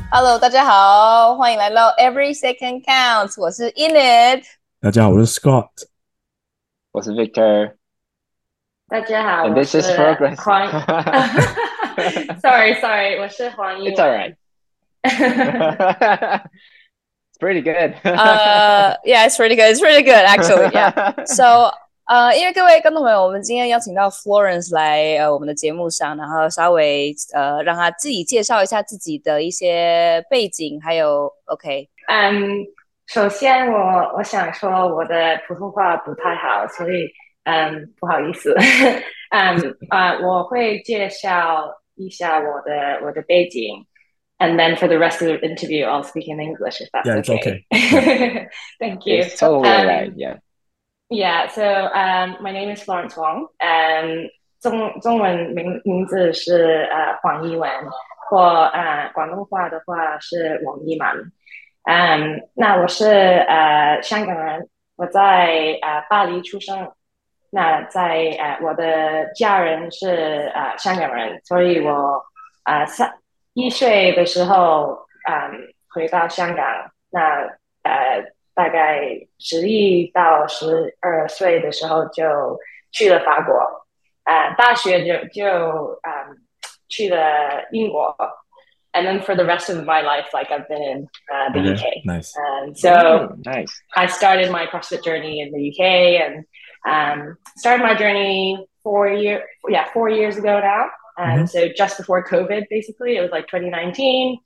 Hello，大家好，歡迎來到 Every Second Counts，我是 Enid。 大家好，我是 Scott。 我是 Victor，and 大家好，我 this 是 is Progress. 黄，sorry，我是黄一 It's alright. 文。 It's pretty good. Yeah, it's pretty good. It's pretty good, actually. Yeah. So, 因為各位觀眾朋友，我們今天邀請到 Florence 來我們的節目上，然後稍微讓他自己介紹一下自己的一些背景，還有 OK。 首先我想說我的普通話不太好，所以不好意思。我會介紹一下我的背景。And then for the rest of the interview, I'll speak in English if that's Yeah, it's okay. Thank you. It's totally alright. Yeah. Yeah. So my name is Florence Wong. 中文名字是黄一文，或廣東話的話是王一文。那我是香港人，我在巴黎出生。那在我的家人是香港人，所以我1岁的時候回到香港。那大概11到12歲的時候就去了法國。大學就去了英國。And then for the rest of my life, like I've been in the Okay, UK. nice. So nice. I started my CrossFit journey in the UK and started my journey 4 years ago now. So just before COVID, basically, it was like 2019.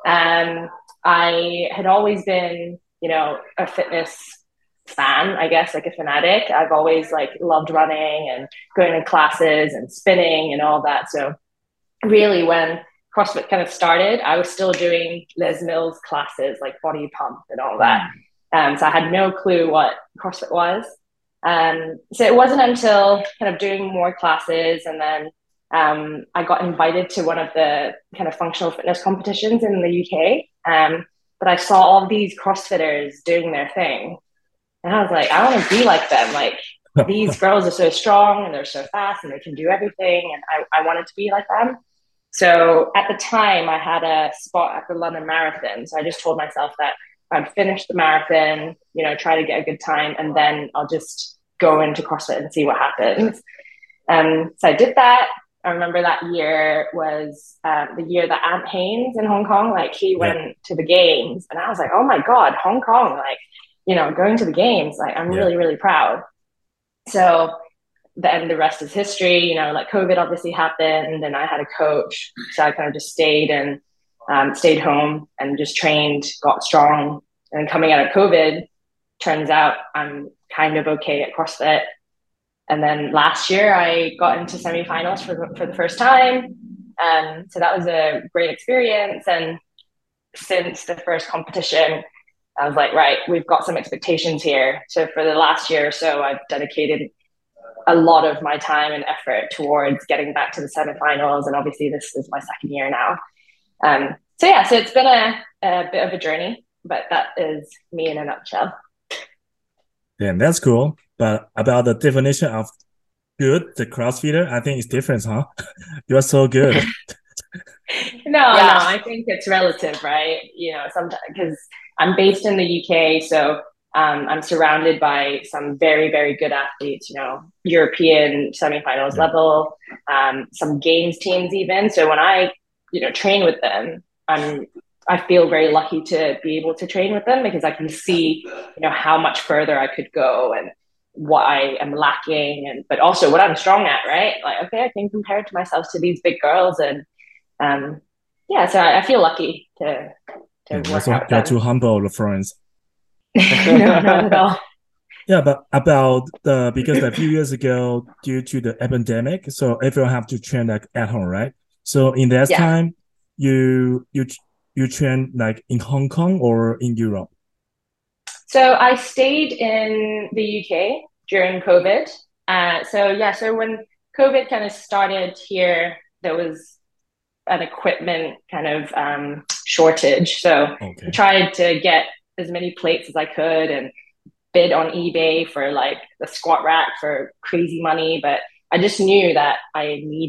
I had always been, a fitness fan, I guess, like a fanatic. I've always like loved running and going to classes and spinning and all that. So really when CrossFit kind of started, I was still doing Les Mills classes, like body pump and all that. So I had no clue what CrossFit was. So it wasn't until kind of doing more classes and then I got invited to one of the kind of functional fitness competitions in the UK. But I saw all these CrossFitters doing their thing. And I was like, I want to be like them. Like these girls are so strong and they're so fast and they can do everything. And I wanted to be like them. So at the time I had a spot at the London Marathon. So I just told myself that I'd finish the marathon, try to get a good time, and then I'll just go into CrossFit and see what happens. So I did that. I remember that year was the year that Ant Haynes in Hong Kong, like he went to the games and I was like, oh my God, Hong Kong, like, going to the games, like I'm really, really proud. So then the rest is history, like COVID obviously happened and I had a coach. So I kind of just stayed and stayed home and just trained, got strong. And coming out of COVID, turns out I'm kind of okay at CrossFit. And then last year I got into semifinals for the first time. So that was a great experience. And since the first competition, I was like, right, we've got some expectations here. So for the last year or so, I've dedicated a lot of my time and effort towards getting back to the semifinals. And obviously this is my second year now. So it's been a bit of a journey, but that is me in a nutshell. Yeah, that's cool. But about the definition of good, the CrossFitter, I think it's different, huh? You're so good. No, I think it's relative, right? Sometimes because I'm based in the UK, so I'm surrounded by some very, very good athletes, European semifinals level, some games teams even. So when I, train with them, I feel very lucky to be able to train with them because I can see, how much further I could go and what I am lacking, but also what I'm strong at, right? Like, okay, I can compare it to myself to these big girls, and so I feel lucky to work out with You're them. too humble, Florence. No, not at all. Yeah, but because a few years ago, due to the epidemic, so everyone have to train like at home, right? So in that time, you train like in Hong Kong or in Europe? So I stayed in the UK during COVID. So when COVID kind of started here, there was an equipment kind of shortage. So I tried to get as many plates as I could and bid on eBay for like the squat rack for crazy money. But I just knew that I needed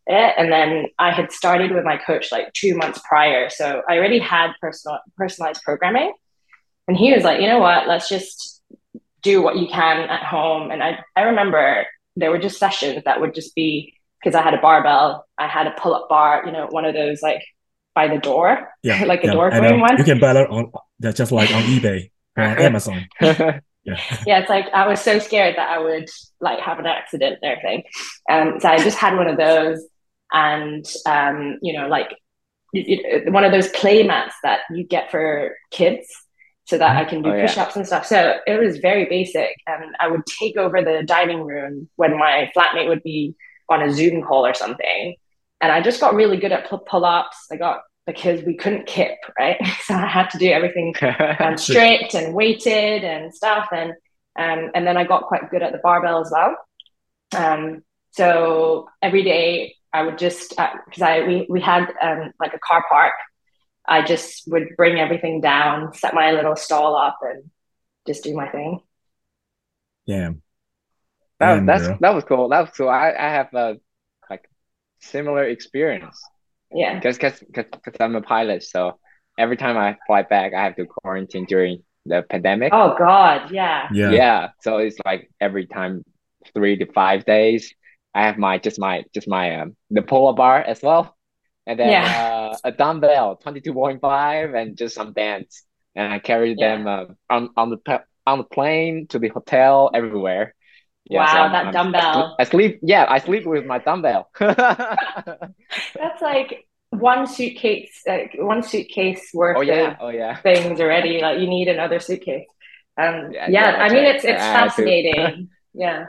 it. And then I had started with my coach like 2 months prior. So I already had personalized programming. And he was like, you know what, let's just do what you can at home. And I remember there were just sessions that would just be, because I had a barbell, I had a pull-up bar, you know, one of those like by the door, like a door frame one. You can buy that on just like on eBay or on Amazon. Yeah, it's like I was so scared that I would like have an accident and everything. So I just had one of those, and you know, like one of those play mats that you get for kids, so that I can do push-ups and stuff. So it was very basic, and I would take over the dining room when my flatmate would be on a Zoom call or something. And I just got really good at pull-ups. Because we couldn't kip, right? So I had to do everything straight and weighted and stuff. And then I got quite good at the barbell as well. So every day I would just, because we had like a car park, I just would bring everything down, set my little stall up, and just do my thing. Yeah. That was cool. That was cool. I have a like similar experience. Yeah. Because I'm a pilot, so every time I fly back, I have to quarantine during the pandemic. Oh God, yeah. Yeah. So it's like every time 3 to 5 days, I have the pull-up bar as well, and then a dumbbell 22.5 and just some bands, and I carry them on the plane to the hotel everywhere. Yeah, wow, so that dumbbell. I sleep with my dumbbell. That's like one suitcase worth of things already. Like you need another suitcase. I mean, it's fascinating. Yeah.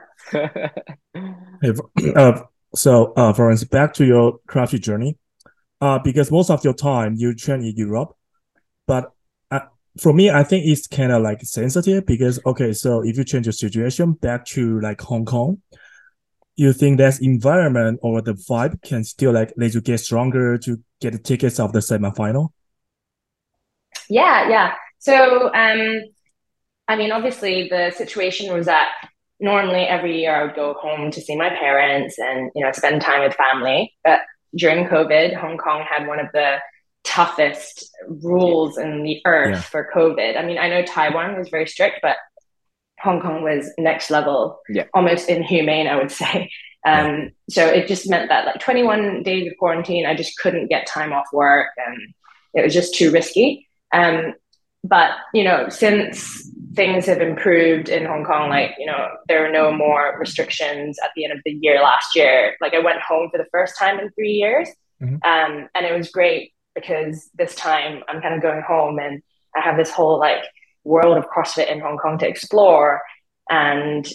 So, Florence, back to your CrossFit journey. Because most of your time you train in Europe, but for me, I think it's kind of like sensitive because, okay, so if you change your situation back to like Hong Kong, you think that environment or the vibe can still like let you get stronger to get the tickets of the semifinal? Yeah. So, I mean, obviously the situation was that normally every year I would go home to see my parents and, you know, spend time with family. But during COVID, Hong Kong had one of the toughest rules in the earth for COVID. I mean, I know Taiwan was very strict, but Hong Kong was next level, almost inhumane, I would say. So it just meant that like 21 days of quarantine, I just couldn't get time off work, and it was just too risky. But, you know, since things have improved in Hong Kong, like, you know, there are no more restrictions at the end of the year last year. Like I went home for the first time in 3 years. And it was great because this time I'm kind of going home and I have this whole like world of CrossFit in Hong Kong to explore. And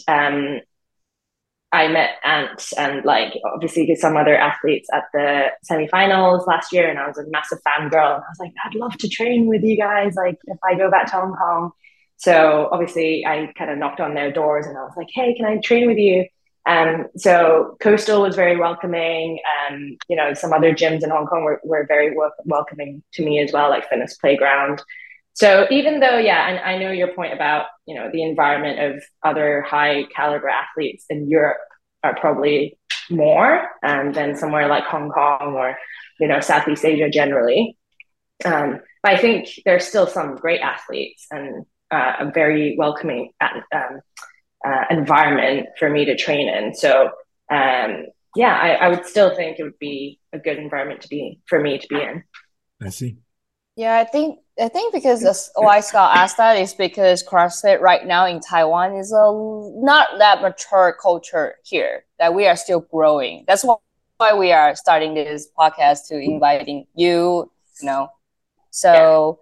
I met Ant and like obviously some other athletes at the semifinals last year, and I was a massive fangirl. And I was like, I'd love to train with you guys, like if I go back to Hong Kong. So obviously I kind of knocked on their doors and I was like, hey, can I train with you? So Coastal was very welcoming. You know, some other gyms in Hong Kong were very welcoming to me as well, like Fitness Playground. So even though, and I know your point about, you know, the environment of other high caliber athletes in Europe are probably more than somewhere like Hong Kong or, you know, Southeast Asia generally. But I think there's still some great athletes and a very welcoming environment for me to train in. So I would still think it would be a good environment for me to be in. I see. Yeah, I think because why Scott asked that is because CrossFit right now in Taiwan is not that mature culture here, that we are still growing. That's why we are starting this podcast to inviting you, you know. So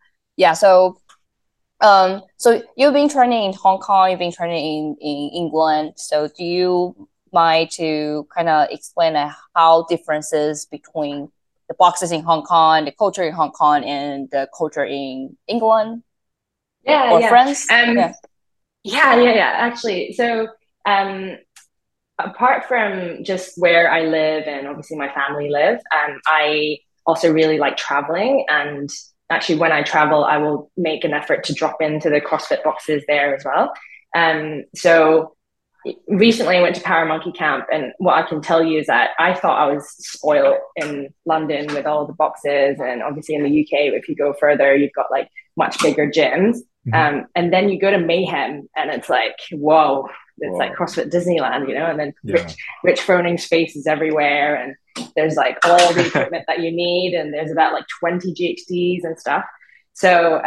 so you've been training in Hong Kong, you've been training in England. So do you mind to kind of explain how differences between the boxes in Hong Kong, the culture in Hong Kong, and the culture in England? France? Actually, so apart from just where I live and obviously my family live, I also really like traveling. And actually, when I travel, I will make an effort to drop into the CrossFit boxes there as well. So recently I went to Paramonkey Camp, and what I can tell you is that I thought I was spoiled in London with all the boxes, and obviously in the UK, if you go further, you've got like much bigger gyms. And then you go to Mayhem, and it's like, whoa, it's like CrossFit Disneyland, you know. And then Rich Froning's face is everywhere, and there's like all the equipment that you need, and there's about like 20 GHDs and stuff. So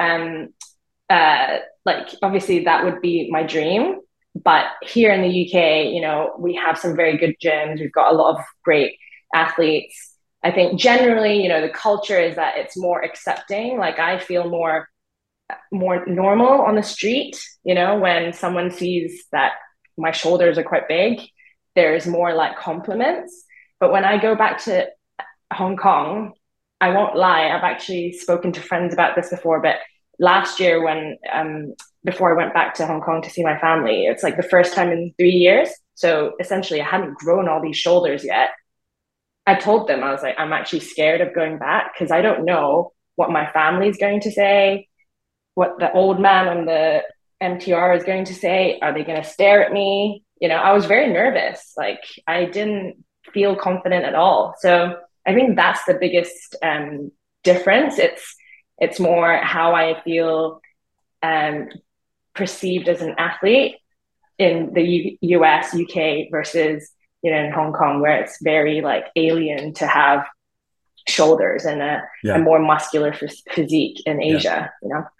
like obviously that would be my dream. But here in the UK, you know, we have some very good gyms. We've got a lot of great athletes. I think generally, you know, the culture is that it's more accepting. Like I feel more normal on the street, you know, when someone sees that my shoulders are quite big, there's more like compliments. But when I go back to Hong Kong, I won't lie, I've actually spoken to friends about this before, but last year when before I went back to Hong Kong to see my family, it's like the first time in 3 years. So essentially I hadn't grown all these shoulders yet. I told them, I was like, I'm actually scared of going back because I don't know what my family's going to say, what the old man on the MTR is going to say. Are they going to stare at me? You know, I was very nervous. Like I didn't feel confident at all. So I think that's the biggest difference. It's more how I feel perceived as an athlete in the US, UK versus, you know, in Hong Kong, where it's very like alien to have shoulders and a more muscular physique in Asia, you know?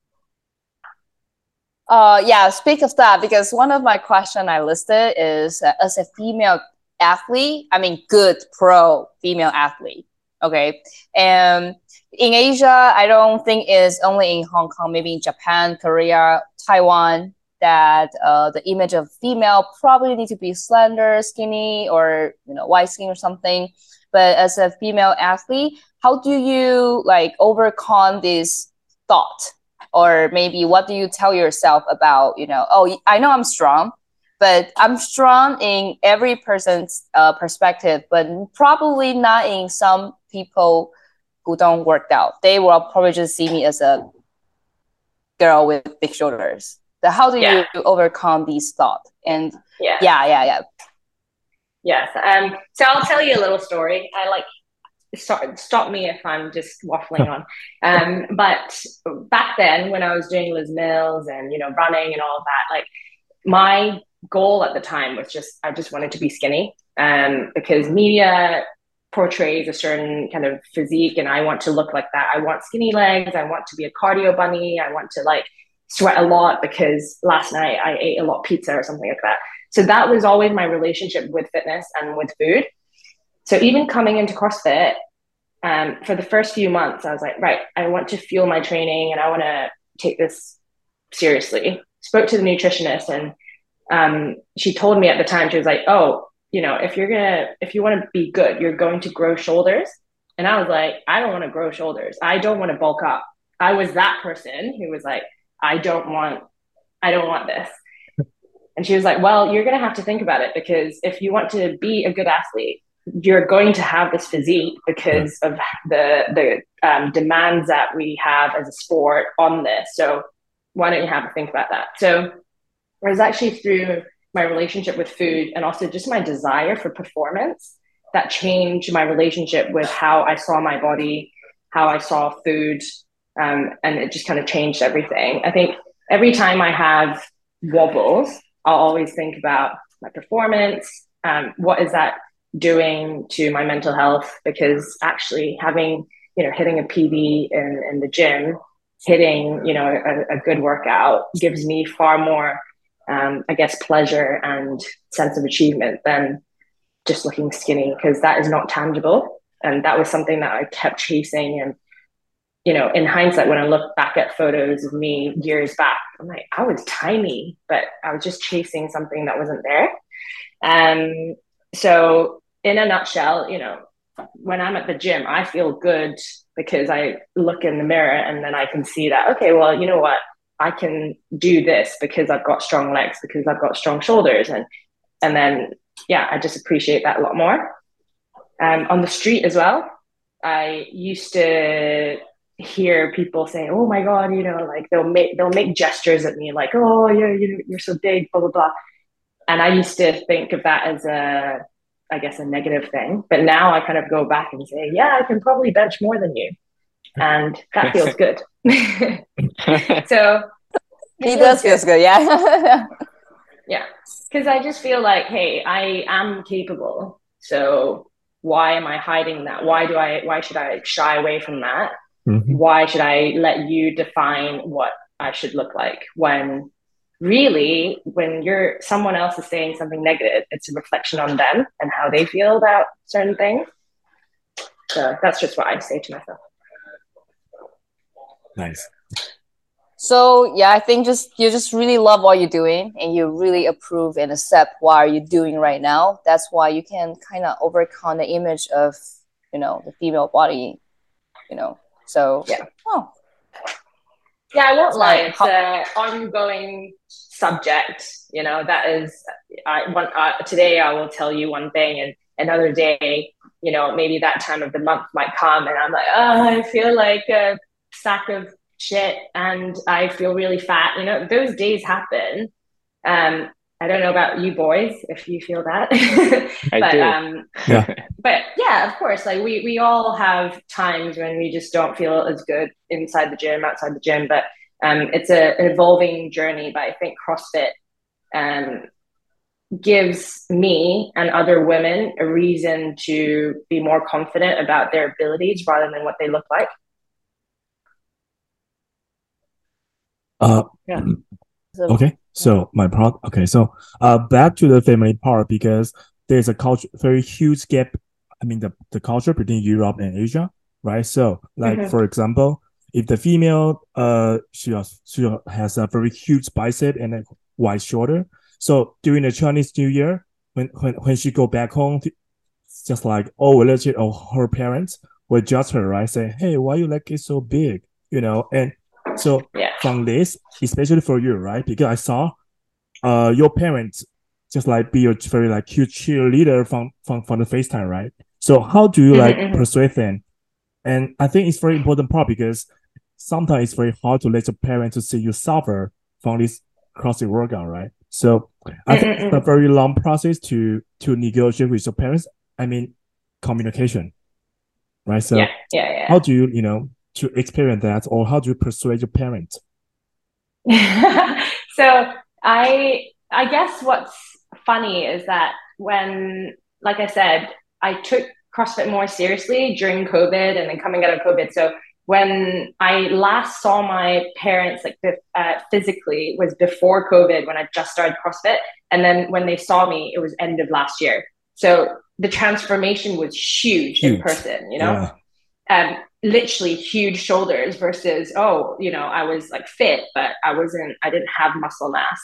Speak of that, because one of my question I listed is as a female athlete, I mean, good pro female athlete. Okay. And in Asia, I don't think it's only in Hong Kong, maybe in Japan, Korea, Taiwan, that the image of female probably need to be slender, skinny, or, you know, white skin or something. But as a female athlete, how do you like overcome this thought? Or maybe what do you tell yourself about, you know, oh, I know I'm strong, but I'm strong in every person's perspective, but probably not in some people who don't work out. They will probably just see me as a girl with big shoulders. So how do you overcome these thoughts? And Yes. So I'll tell you a little story. Stop me if I'm just waffling on. But back then when I was doing Les Mills and, you know, running and all of that, like my goal at the time was I just wanted to be skinny, because media portrays a certain kind of physique and I want to look like that. I want skinny legs. I want to be a cardio bunny. I want to like sweat a lot because last night I ate a lot of pizza or something like that. So that was always my relationship with fitness and with food. So even coming into CrossFit, for the first few months, I was like, right, I want to fuel my training and I want to take this seriously. Spoke to the nutritionist, and she told me at the time, she was like, oh, you know, if you want to be good, you're going to grow shoulders. And I was like, I don't want to grow shoulders. I don't want to bulk up. I was that person who was like, I don't want this. And she was like, well, you're going to have to think about it, because if you want to be a good athlete, you're going to have this physique because of the demands that we have as a sport on this. So why don't you have to think about that? So it was actually through my relationship with food and also just my desire for performance that changed my relationship with how I saw my body, how I saw food, and it just kind of changed everything. I think every time I have wobbles, I'll always think about my performance. What is that doing to my mental health? Because actually having, you know, hitting a PB in the gym, hitting, you know, a good workout gives me far more, I guess, pleasure and sense of achievement than just looking skinny, because that is not tangible. And that was something that I kept chasing. And, you know, in hindsight, when I look back at photos of me years back, I'm like, I was tiny, but I was just chasing something that wasn't there. So in a nutshell, you know, when I'm at the gym, I feel good because I look in the mirror and then I can see that, okay, well, you know what? I can do this because I've got strong legs, because I've got strong shoulders. And then, yeah, I just appreciate that a lot more. On the street as well, I used to hear people saying, oh my God, you know, like they'll make gestures at me like, oh, you're so big, blah, blah, blah. And I used to think of that as I guess, a negative thing. But now I kind of go back and say, yeah, I can probably bench more than you. And that feels good. So it does feel good, yeah. Yeah. Because I just feel like, hey, I am capable. So why am I hiding that? Why should I shy away from that? Why should I let you define what I should look like, when really, when someone else is saying something negative, it's a reflection on them and how they feel about certain things. So that's just what I say to myself. Nice. So yeah, I think you just really love what you're doing, and you really approve and accept what you're doing right now. That's why you can kind of overcome the image of, the female body, So yeah. Oh. Yeah, I won't lie. It's an ongoing subject. That is, today I will tell you one thing, and another day, maybe that time of the month might come, and I'm like, oh, I feel like a sack of shit, and I feel really fat. Those days happen. I don't know about you boys if you feel that, I do. Yeah. But yeah, of course, like we all have times when we just don't feel as good inside the gym, outside the gym. But it's an evolving journey. But I think CrossFit gives me and other women a reason to be more confident about their abilities rather than what they look like. Yeah. Okay. So back to the family part, because there's a very huge gap. I mean, the culture between Europe and Asia, right? So, like for example, if the female she has a very huge bicep and a wide shoulder, so during the Chinese New Year, when she go back home, just like all relatives or her parents will judge her, right? Say, hey, why you like it so big, and. So from this, especially for you, right? Because I saw your parents just like be a very like huge cheerleader from the FaceTime, right? So how do you like persuade them? And I think it's very important part, because sometimes it's very hard to let your parents to see you suffer from this CrossFit workout, right? So I think it's a very long process to negotiate with your parents. I mean, communication, right? So how do you to experience that, or how do you persuade your parents? So I guess what's funny is that when, like I said, I took CrossFit more seriously during COVID and then coming out of COVID. So when I last saw my parents physically was before COVID, when I just started CrossFit. And then when they saw me, it was end of last year. So the transformation was huge. In person, Yeah. Literally huge shoulders versus, I was like fit, but I didn't have muscle mass.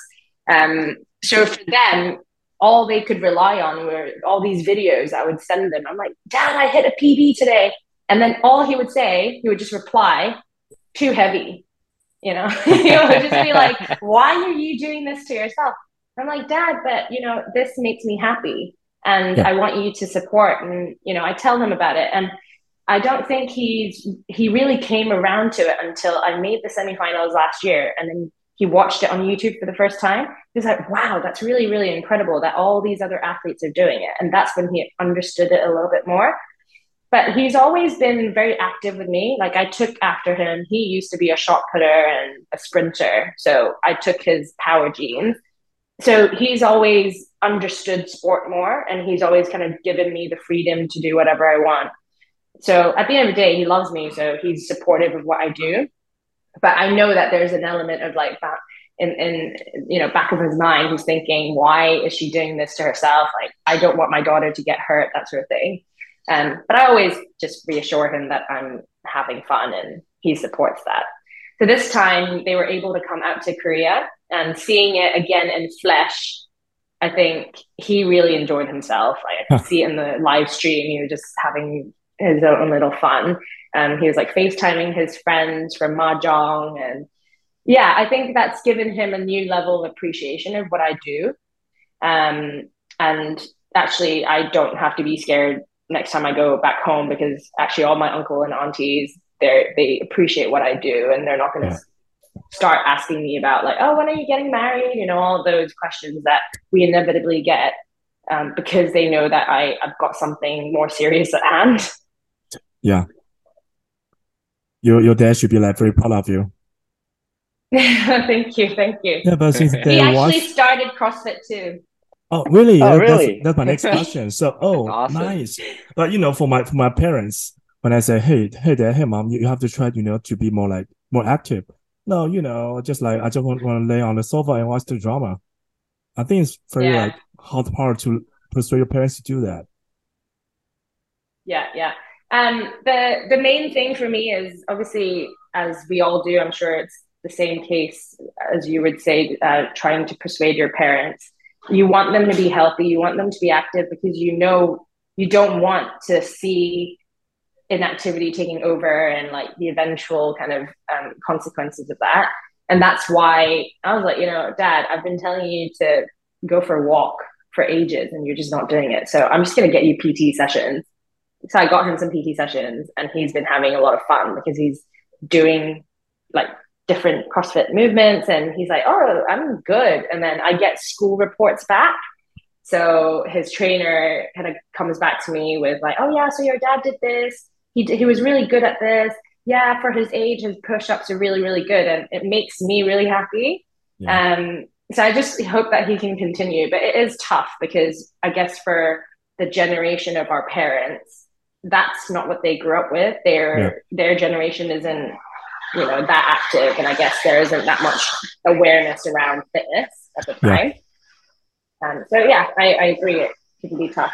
So for them, all they could rely on were all these videos I would send them. I'm like, Dad, I hit a PB today. And then all he would just reply, too heavy. He would just be like, why are you doing this to yourself? I'm like, Dad, but this makes me happy. And I want you to support. And, I tell him about it. And I don't think he really came around to it until I made the semifinals last year. And then he watched it on YouTube for the first time. He was like, wow, that's really, really incredible that all these other athletes are doing it. And that's when he understood it a little bit more. But he's always been very active with me. Like, I took after him. He used to be a shot putter and a sprinter. So I took his power genes. So he's always understood sport more, and he's always kind of given me the freedom to do whatever I want. So at the end of the day, he loves me, so he's supportive of what I do. But I know that there's an element of like that in back of his mind, he's thinking, why is she doing this to herself? Like, I don't want my daughter to get hurt, that sort of thing. But I always just reassure him that I'm having fun, and he supports that. So this time they were able to come out to Korea, and seeing it again in flesh, I think he really enjoyed himself. Like, I could see it in the live stream, he was just having his own little fun. He was like FaceTiming his friends from Mahjong. And yeah, I think that's given him a new level of appreciation of what I do. And actually, I don't have to be scared next time I go back home, because actually all my uncle and aunties, they appreciate what I do, and they're not going to start asking me about like, oh, when are you getting married? You know, all of those questions that we inevitably get because they know that I've got something more serious at hand. Yeah. Your dad should be like very proud of you. Thank you. Yeah, but since he actually started CrossFit too. Oh, really? Oh, really? That's my next question. So, awesome. Nice. But for my parents, when I say, hey, dad, hey, mom, you have to try, to be more active. No, just like I just want to lay on the sofa and watch the drama. I think it's very hard part to persuade your parents to do that. Yeah. The main thing for me is obviously, as we all do, I'm sure it's the same case as you would say, trying to persuade your parents. You want them to be healthy, you want them to be active because you don't want to see inactivity taking over and like the eventual kind of consequences of that. And that's why I was like, Dad, I've been telling you to go for a walk for ages and you're just not doing it. So I'm just going to get you PT sessions. So I got him some PT sessions and he's been having a lot of fun because he's doing like different CrossFit movements and he's like, oh, I'm good. And then I get school reports back. So his trainer kind of comes back to me with like, oh yeah, so your dad did this. He was really good at this. Yeah, for his age, his push-ups are really, really good. And it makes me really happy. Yeah. So I just hope that he can continue. But it is tough because I guess for the generation of our parents, that's not what they grew up with. Their generation isn't, that active. And I guess there isn't that much awareness around fitness at the time. So yeah, I agree. It can be tough.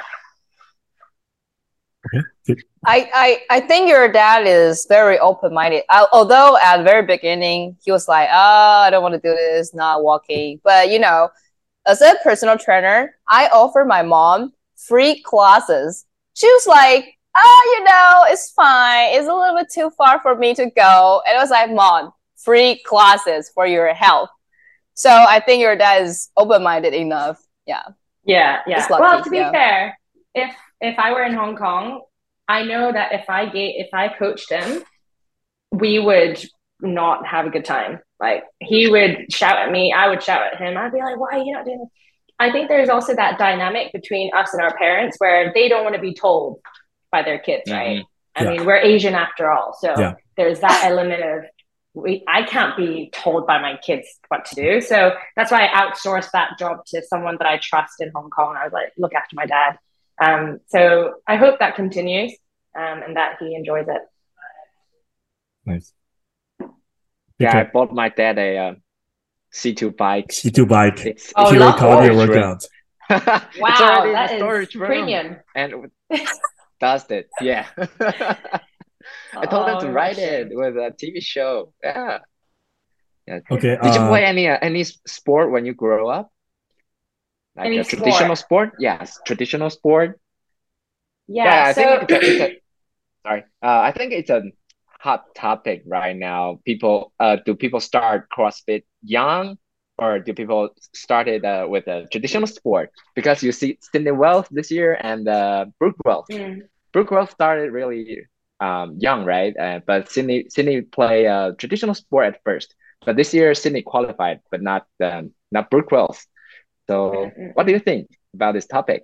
Okay. I think your dad is very open-minded. Although at the very beginning, he was like, I don't want to do this, not walking. But, as a personal trainer, I offer my mom free classes. She was like, it's fine. It's a little bit too far for me to go. And I was like, Mom, free classes for your health. So I think your dad is open-minded enough. Yeah. Well, to be fair, if I were in Hong Kong, I know that if I coached him, we would not have a good time. Like he would shout at me, I would shout at him. I'd be like, why are you not doing this? I think there's also that dynamic between us and our parents where they don't want to be told by their kids, right? I mean, we're Asian after all. So there's that element of I can't be told by my kids what to do. So that's why I outsourced that job to someone that I trust in Hong Kong. I was like, look after my dad. So I hope that continues and that he enjoys it. Nice. Yeah, I bought my dad a C2 bike. C2 bike. It's hero cardio workout. Wow, that is premium. And does it? Yeah. I told him to write it with a TV show. Yeah. Okay. Did you play any sport when you grow up? Like a traditional sport? Yes, traditional sport. Yeah. I think I think it's a hot topic right now. Do people start CrossFit young, or do people start it with a traditional sport? Because you see Sydney Wells this year and Brooke Wells. Brooke Wells started really young, right? But Sydney play a traditional sport at first. But this year Sydney qualified, but not Brooke Wells. So what do you think about this topic?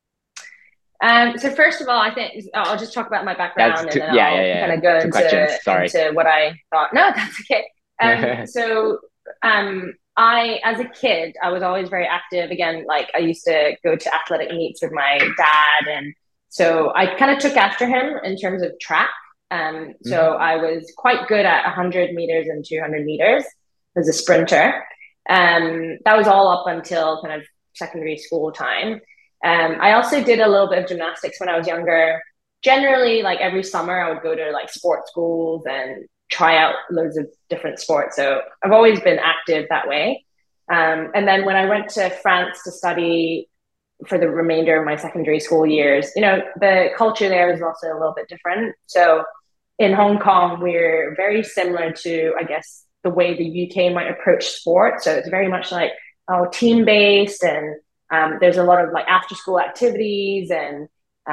So first of all, I think I'll just talk about my background and then I'll kind of go into what I thought. No, that's okay. So I, as a kid, I was always very active. Again, like I used to go to athletic meets with my dad. And so I kind of took after him in terms of track. So I was quite good at 100 meters and 200 meters as a sprinter. That was all up until kind of secondary school time. I also did a little bit of gymnastics when I was younger. Generally, like every summer, I would go to like sports schools and try out loads of different sports. So I've always been active that way. And then when I went to France to study for the remainder of my secondary school years, the culture there is also a little bit different. So in Hong Kong, we're very similar to, I guess, the way the UK might approach sport. So it's very much like team-based, and there's a lot of like after-school activities and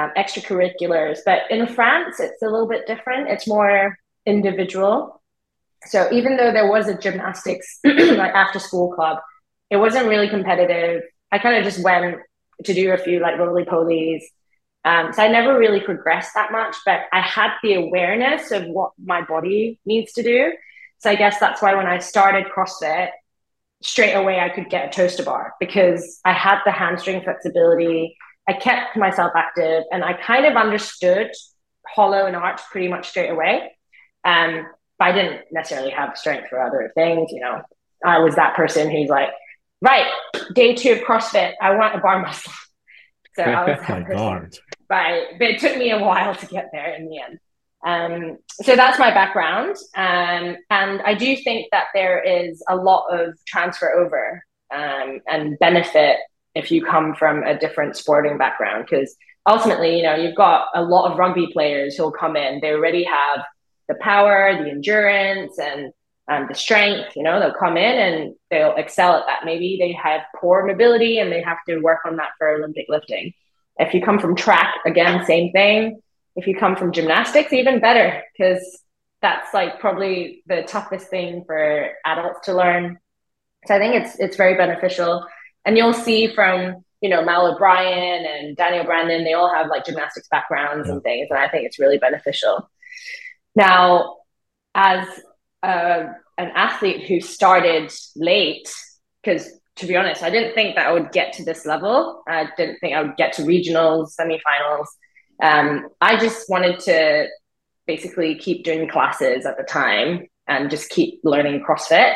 extracurriculars. But in France, it's a little bit different. It's more individual. So even though there was a gymnastics like after school club, it wasn't really competitive. I kind of just went to do a few like roly polies. So I never really progressed that much, but I had the awareness of what my body needs to do. So I guess that's why when I started CrossFit, straight away I could get a toaster bar because I had the hamstring flexibility. I kept myself active and I kind of understood hollow and arch pretty much straight away. But I didn't necessarily have strength for other things. You know, I was that person who's like, right, day 2 of CrossFit, I want a bar muscle. So I was that person. But it took me a while to get there in the end. So that's my background. And I do think that there is a lot of transfer over and benefit if you come from a different sporting background, because ultimately, you know, you've got a lot of rugby players who'll come in, they already have the power, the endurance, and the strength. You know, they'll come in and they'll excel at that. Maybe they have poor mobility and they have to work on that for Olympic lifting. If you come from track, again, same thing. If you come from gymnastics, even better, because that's like probably the toughest thing for adults to learn. So I think it's very beneficial. And you'll see from, you know, Mal O'Brien and Daniel Brandon, they all have like gymnastics backgrounds and things. And I think it's really beneficial. Now, as an athlete who started late, because to be honest, I didn't think that I would get to this level. I didn't think I would get to regionals, semifinals. I just wanted to basically keep doing classes at the time and just keep learning CrossFit.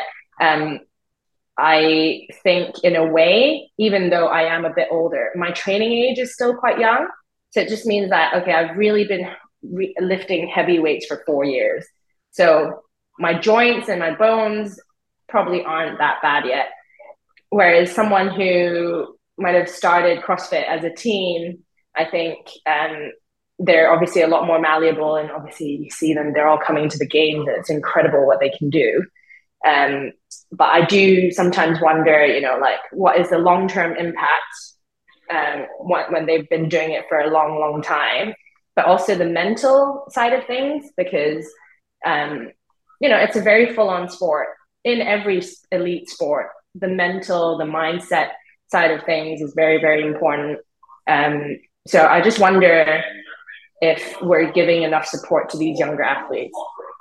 I think in a way, even though I am a bit older, my training age is still quite young. So it just means that, okay, I've really been lifting heavy weights for 4 years. So my joints and my bones probably aren't that bad yet. Whereas someone who might have started CrossFit as a teen, I think they're obviously a lot more malleable, and obviously you see them, they're all coming to the games and it's incredible what they can do. But I do sometimes wonder, you know, like what is the long-term impact when they've been doing it for a long, long time, but also the mental side of things, because, you know, it's a very full-on sport. In every elite sport, the mental, the mindset side of things is very, very important. So I just wonder if we're giving enough support to these younger athletes.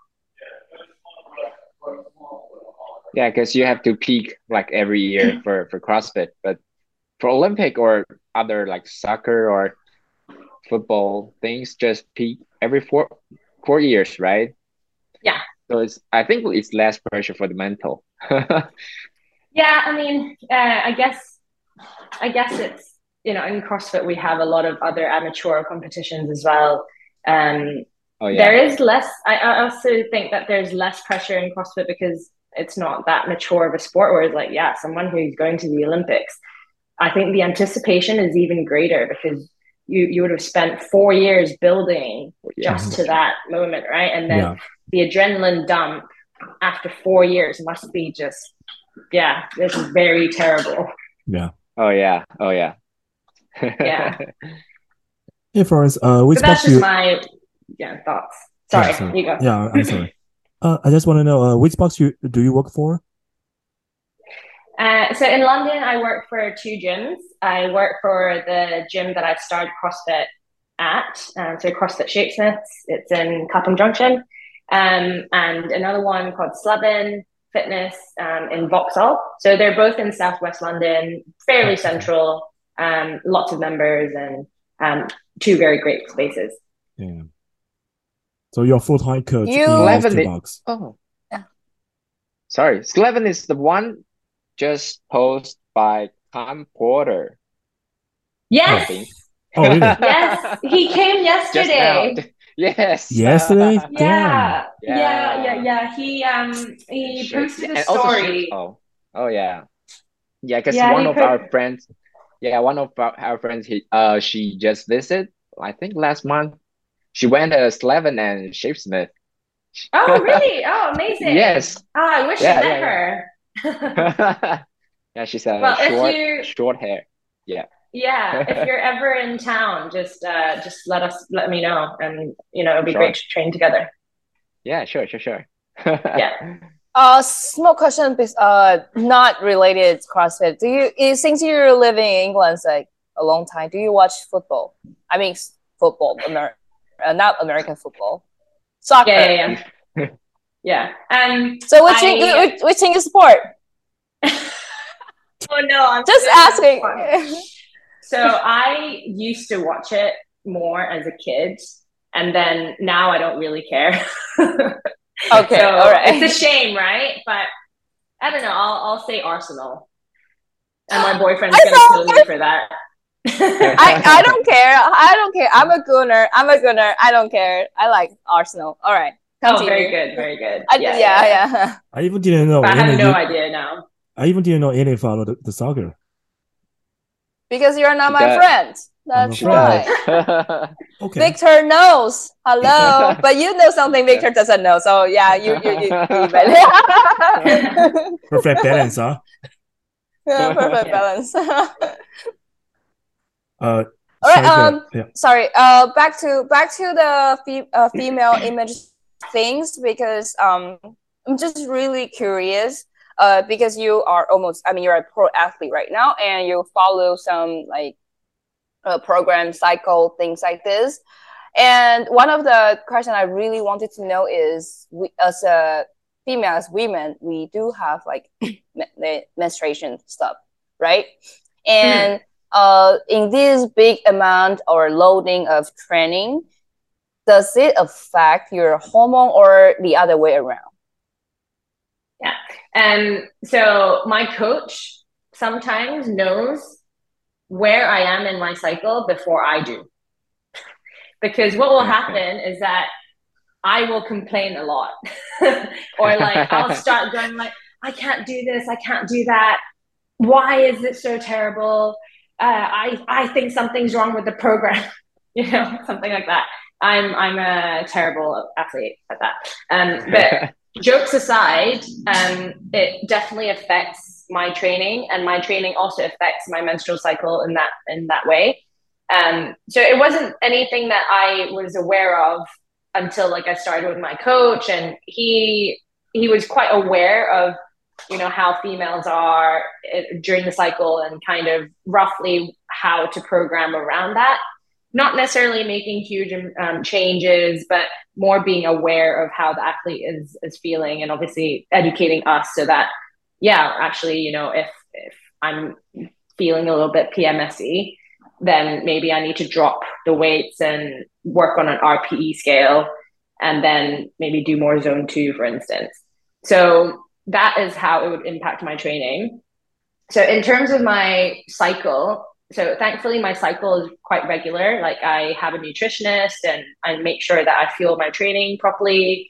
Yeah, because you have to peak like every year for CrossFit, but for Olympic or other like soccer or football things, just peak every 4 years, right? Yeah. So I think it's less pressure for the mental. Yeah, I mean, I guess it's, you know, in CrossFit we have a lot of other amateur competitions as well. There is less. I also think that there's less pressure in CrossFit because it's not that mature of a sport. Whereas, like, yeah, someone who's going to the Olympics, I think the anticipation is even greater because you would have spent 4 years building just to that moment, right? And then the adrenaline dump after 4 years must be just, yeah, this is very terrible. Yeah. Oh yeah. Yeah. Hey, Florence, which but that's box just my thoughts. Sorry, you go. Yeah, I'm sorry. I just want to know which box do you work for? So in London, I work for 2 gyms. I work for the gym that I've started CrossFit at, so CrossFit Shapesmiths. It's in Clapham Junction, and another one called Slevin Fitness in Vauxhall. So they're both in Southwest London, fairly central. Lots of members and 2 very great spaces. Yeah. So you're full-time coach in Slevin box. Oh, yeah. Sorry, Slevin is the one just posted by Tom Porter. Yes. Oh, really? Yes, he came yesterday. Yes. Yesterday? Yeah. He posted a story. Oh yeah. Yeah, because one of our friends, she just visited, I think last month. She went to Slevin and Shapesmith. Oh, really? Oh, amazing. Yes. Oh, I wish I met her. Yeah, she's short hair. Yeah. Yeah, if you're ever in town, just let me know, and you know, it'd be great to train together. Yeah, sure. Yeah. Small question, not related to CrossFit. Since you're living in England like a long time, do you watch football? I mean, football, not American football, soccer. Yeah. So which thing you support? Oh no, I'm just asking. So I used to watch it more as a kid, and then now I don't really care. Okay, so all right. It's a shame, right? But I don't know. I'll say Arsenal, and my boyfriend's gonna kill me for that. I don't care. I don't care. I'm a Gunner. I don't care. I like Arsenal. All right. Continue. Oh, very good, very good. Yeah. I even didn't know. I have no idea now. I even didn't know any follow the soccer. Because you're not my friend. That's why. Okay. Victor knows. Hello, but you know something Victor doesn't know. So yeah, you perfect balance, huh? Yeah, perfect balance. All right. Sorry. Back to the female image things, because I'm just really curious. Because you are you're a pro athlete right now, and you follow some like program, cycle, things like this. And one of the questions I really wanted to know is, we, as a female, as women, we do have like the menstruation stuff, right? And in this big amount or loading of training, does it affect your hormone or the other way around? Yeah. So my coach sometimes knows where I am in my cycle before I do. Because what will happen is that I will complain a lot. Or like I'll start going like, I can't do this, I can't do that. Why is it so terrible? I think something's wrong with the program. Something like that. I'm a terrible athlete at that. But jokes aside, it definitely affects my training, and my training also affects my menstrual cycle in that way. So it wasn't anything that I was aware of until like I started with my coach, and he was quite aware of how females are during the cycle and kind of roughly how to program around that. Not necessarily making huge changes, but more being aware of how the athlete is feeling, and obviously educating us so that, actually, if I'm feeling a little bit PMSy, then maybe I need to drop the weights and work on an RPE scale, and then maybe do more zone 2, for instance. So that is how it would impact my training. So in terms of my cycle, so thankfully my cycle is quite regular. Like I have a nutritionist, and I make sure that I fuel my training properly.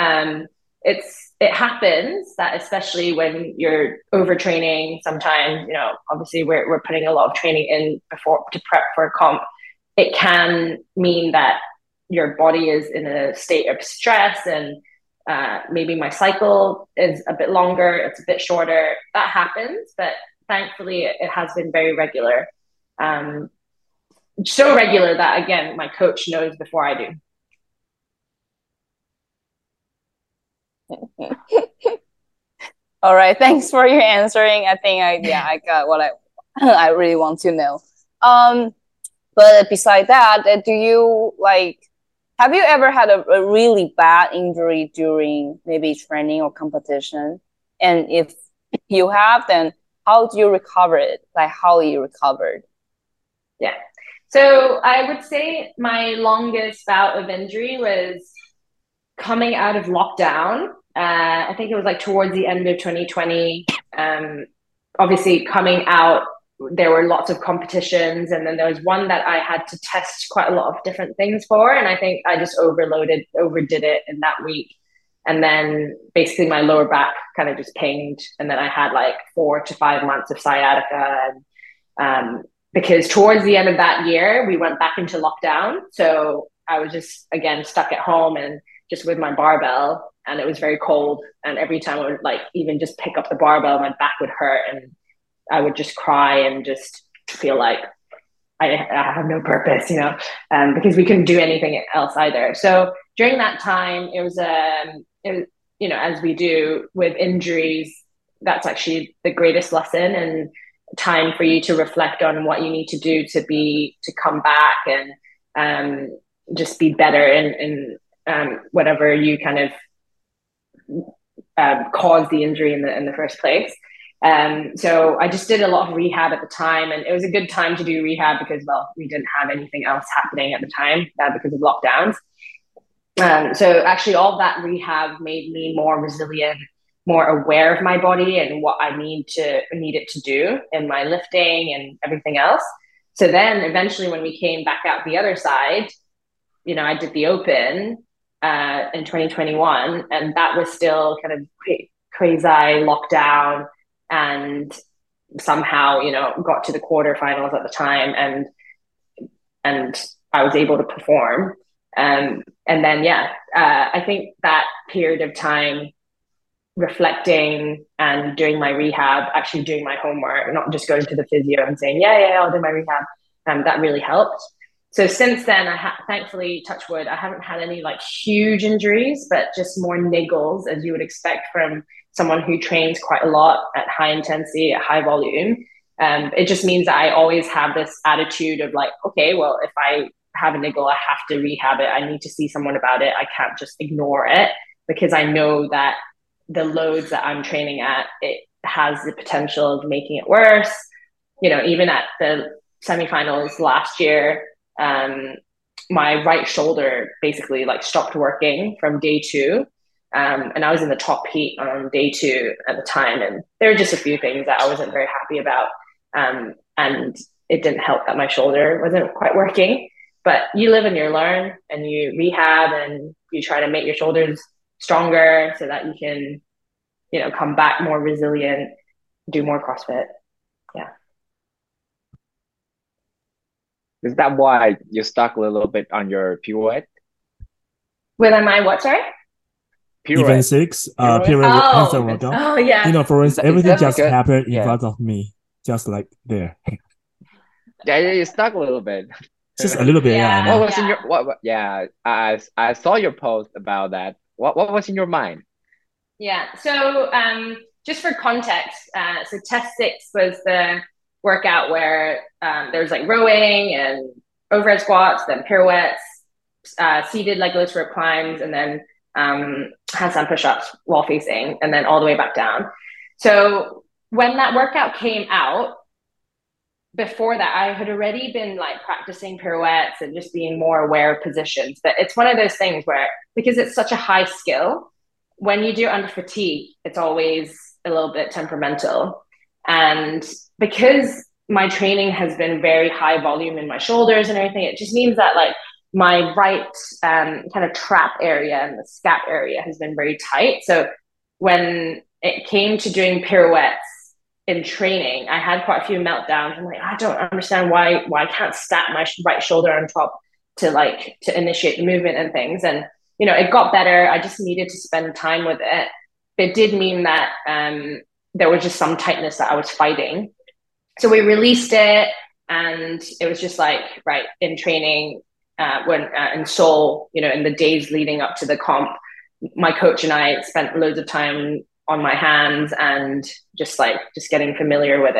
It happens that, especially when you're overtraining, sometimes, obviously we're putting a lot of training in before to prep for a comp. It can mean that your body is in a state of stress, and maybe my cycle is a bit longer, it's a bit shorter. That happens, but thankfully it has been very regular. So regular that, again, my coach knows before I do. All right, thanks for your answering. I think I got what I really want to know. But beside that, do you have you ever had a really bad injury during maybe training or competition? And if you have, then how do you recover it? Like how you recovered? Yeah. So I would say my longest bout of injury was coming out of lockdown. I think it was like towards the end of 2020. Obviously coming out, there were lots of competitions, and then there was one that I had to test quite a lot of different things for, and I think I just overdid it in that week. And then basically my lower back kind of just pinged, and then I had like 4 to 5 months of sciatica. And because towards the end of that year, we went back into lockdown. So I was just, again, stuck at home and just with my barbell, and it was very cold. And every time I would even just pick up the barbell, my back would hurt, and I would just cry and just feel like I have no purpose, because we couldn't do anything else either. So during that time, it as we do with injuries, that's actually the greatest lesson and time for you to reflect on what you need to do to come back and just be better in whatever you kind of caused the injury in the first place. So I just did a lot of rehab at the time, and it was a good time to do rehab because, well, we didn't have anything else happening at the time because of lockdowns. So actually all that rehab made me more resilient, more aware of my body and what I needed to do in my lifting and everything else. So then eventually when we came back out the other side, I did the Open in 2021, and that was still kind of crazy lockdown, and somehow, got to the quarterfinals at the time, and I was able to perform. And then, I think that period of time reflecting and doing my rehab, actually doing my homework, not just going to the physio and saying, I'll do my rehab. That really helped. So since then, thankfully, touch wood, I haven't had any like huge injuries, but just more niggles, as you would expect from someone who trains quite a lot at high intensity, at high volume. It just means that I always have this attitude of like, okay, well, if I have a niggle, I have to rehab it. I need to see someone about it. I can't just ignore it, because I know that the loads that I'm training at, it has the potential of making it worse. Even at the semifinals last year, my right shoulder basically like stopped working from day 2. And I was in the top heat on day 2 at the time. And there were just a few things that I wasn't very happy about. And it didn't help that my shoulder wasn't quite working. But you live and you learn, and you rehab, and you try to make your shoulders stronger so that you can, come back more resilient, do more CrossFit. Yeah. Is that why you stuck a little bit on your pirouette? With my what, sorry? Pirouette. Event 6, pirouette handstand workout. Oh, yeah. For instance, everything just happened in front of me, just like there. Yeah, you stuck a little bit. Just a little bit, yeah. What was in your what? Yeah, I saw your post about that. What was in your mind? Yeah. So just for context, so test 6 was the workout where there's like rowing and overhead squats, then pirouettes, seated leg lifts, rope climbs, and then handstand push-ups wall facing, and then all the way back down. So when that workout came out, before that, I had already been like practicing pirouettes and just being more aware of positions. But it's one of those things where, because it's such a high skill, when you do it under fatigue, it's always a little bit temperamental. And because my training has been very high volume in my shoulders and everything, it just means that like my right kind of trap area and the scap area has been very tight. So when it came to doing pirouettes in training, I had quite a few meltdowns. I'm like, I don't understand why I can't stack my right shoulder on top to initiate the movement and things. And, it got better. I just needed to spend time with it. It did mean that there was just some tightness that I was fighting. So we released it, and it was just like, right, in training, when in Seoul, in the days leading up to the comp, my coach and I spent loads of time on my hands and just getting familiar with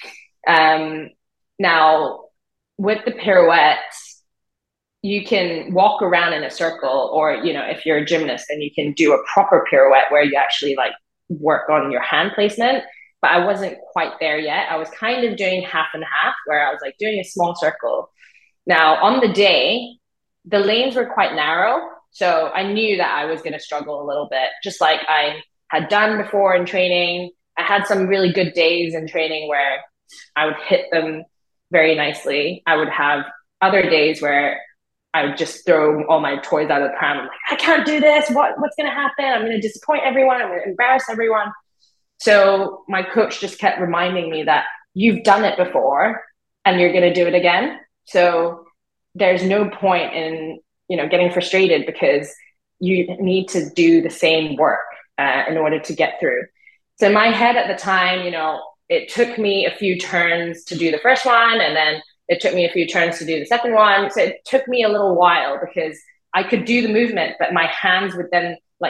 it. Now with the pirouettes, you can walk around in a circle, or, if you're a gymnast, then you can do a proper pirouette where you actually like work on your hand placement. But I wasn't quite there yet. I was kind of doing half and half, where I was like doing a small circle. Now on the day, the lanes were quite narrow. So I knew that I was going to struggle a little bit, just like I had done before in training. I had some really good days in training where I would hit them very nicely. I would have other days where I would just throw all my toys out of the pram. I'm like, I can't do this. What's going to happen? I'm going to disappoint everyone. I'm going to embarrass everyone. So my coach just kept reminding me that you've done it before and you're going to do it again. So there's no point in, getting frustrated, because you need to do the same work in order to get through. So in my head at the time, it took me a few turns to do the first one, and then it took me a few turns to do the second one. So it took me a little while, because I could do the movement, but my hands would then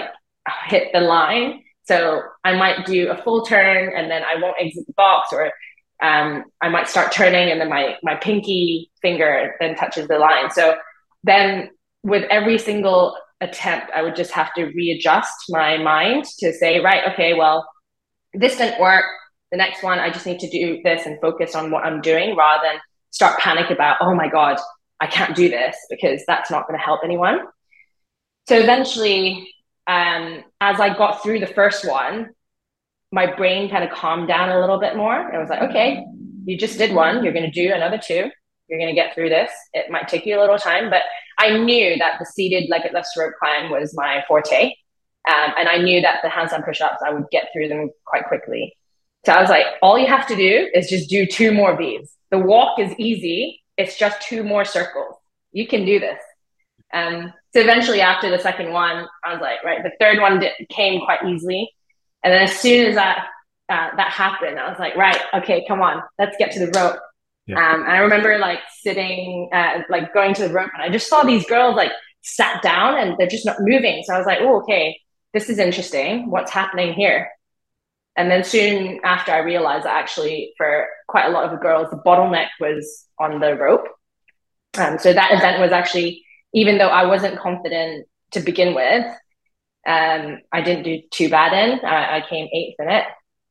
hit the line. So I might do a full turn and then I won't exit the box, or I might start turning and then my pinky finger then touches the line. So then with every single attempt, I would just have to readjust my mind to say, right, okay, well, this didn't work. The next one, I just need to do this and focus on what I'm doing rather than start panic about, oh my God, I can't do this, because that's not going to help anyone. So eventually, as I got through the first one, my brain kind of calmed down a little bit more. I was like, okay, you just did one. You're going to do another two. You're going to get through this. It might take you a little time, but I knew that the seated legged rope climb was my forte. And I knew that the handstand push-ups, I would get through them quite quickly. So I was like, all you have to do is just do 2 more of these. The walk is easy. It's just 2 more circles. You can do this. So eventually after the second one, I was like, right, the third one came quite easily. And then as soon as that happened, I was like, right, okay, come on, let's get to the rope. Yeah. And I remember like sitting, like going to the rope, and I just saw these girls like sat down and they're just not moving. So I was like, oh, okay, this is interesting. What's happening here? And then soon after, I realized that actually for quite a lot of the girls, the bottleneck was on the rope. So that event was actually, even though I wasn't confident to begin with, I didn't do too bad in. I came 8th in it.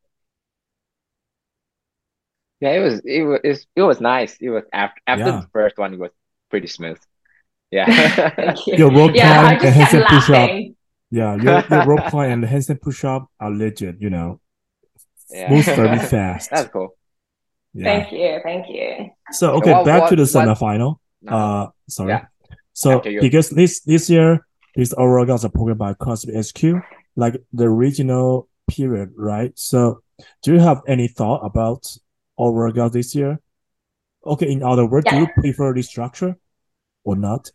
Yeah, it was nice. It was after the first one, it was pretty smooth. Yeah. Thank you. Your rope climb and handstand push-up. Laughing. Yeah, your rope climb and the handstand push-up are legit, you know. Yeah. Moves very fast. That's cool. Yeah. Thank you. So okay, back to the semifinal. Sorry. Yeah. So because this year these overall workouts are programmed by CrossFit HQ, like the regional period, right? So do you have any thought about overall workout this year? Okay, in other words, do you prefer this structure or not?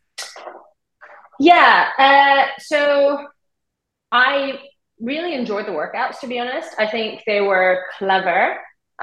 Yeah. So I really enjoyed the workouts, to be honest. I think they were clever.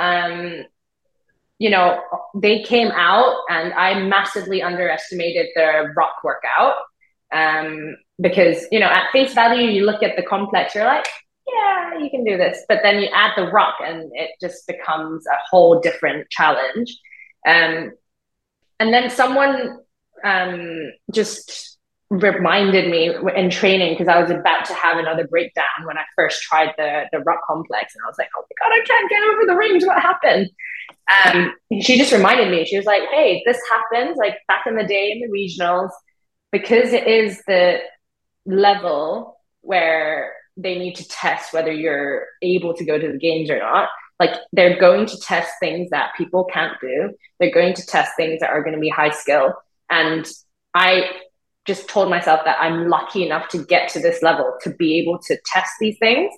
You know, they came out and I massively underestimated the rock workout. Because, you know, at face value, you look at the complex, you're like, yeah, you can do this. But then you add the rock and it just becomes a whole different challenge. And then someone just reminded me in training, because I was about to have another breakdown when I first tried the rock complex, and I was like, oh my God, I can't get over the rings. What happened? She just reminded me. She was like, hey, this happens like back in the day in the regionals, because it is the level where they need to test whether you're able to go to the games or not. Like, they're going to test things that people can't do. They're going to test things that are going to be high skill. And I just told myself that I'm lucky enough to get to this level to be able to test these things.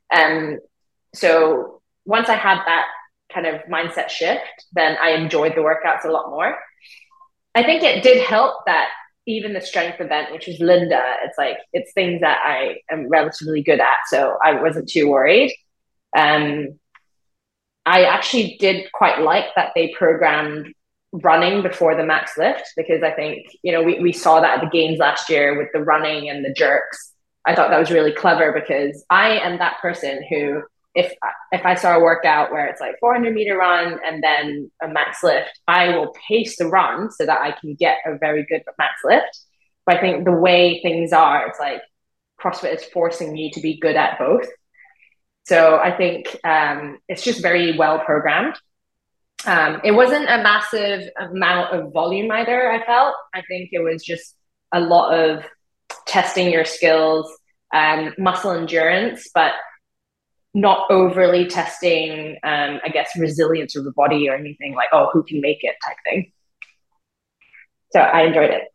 So once I had that kind of mindset shift, then I enjoyed the workouts a lot more. I think it did help that even the strength event, which is Linda, it's things that I am relatively good at. So I wasn't too worried. I actually did quite like that they programmed running before the max lift, because I think, you know, we saw that at the games last year with the running and the jerks. I thought that was really clever, because I am that person who, if I saw a workout where it's like 400-meter run and then a max lift, I will pace the run so that I can get a very good max lift. But I think the way things are, it's like CrossFit is forcing you to be good at both. So I think it's just very well programmed. It wasn't a massive amount of volume either, I felt. I think it was just a lot of testing your skills, muscle endurance, but not overly testing, I guess, resilience of the body or anything like, oh, who can make it type thing. So I enjoyed it.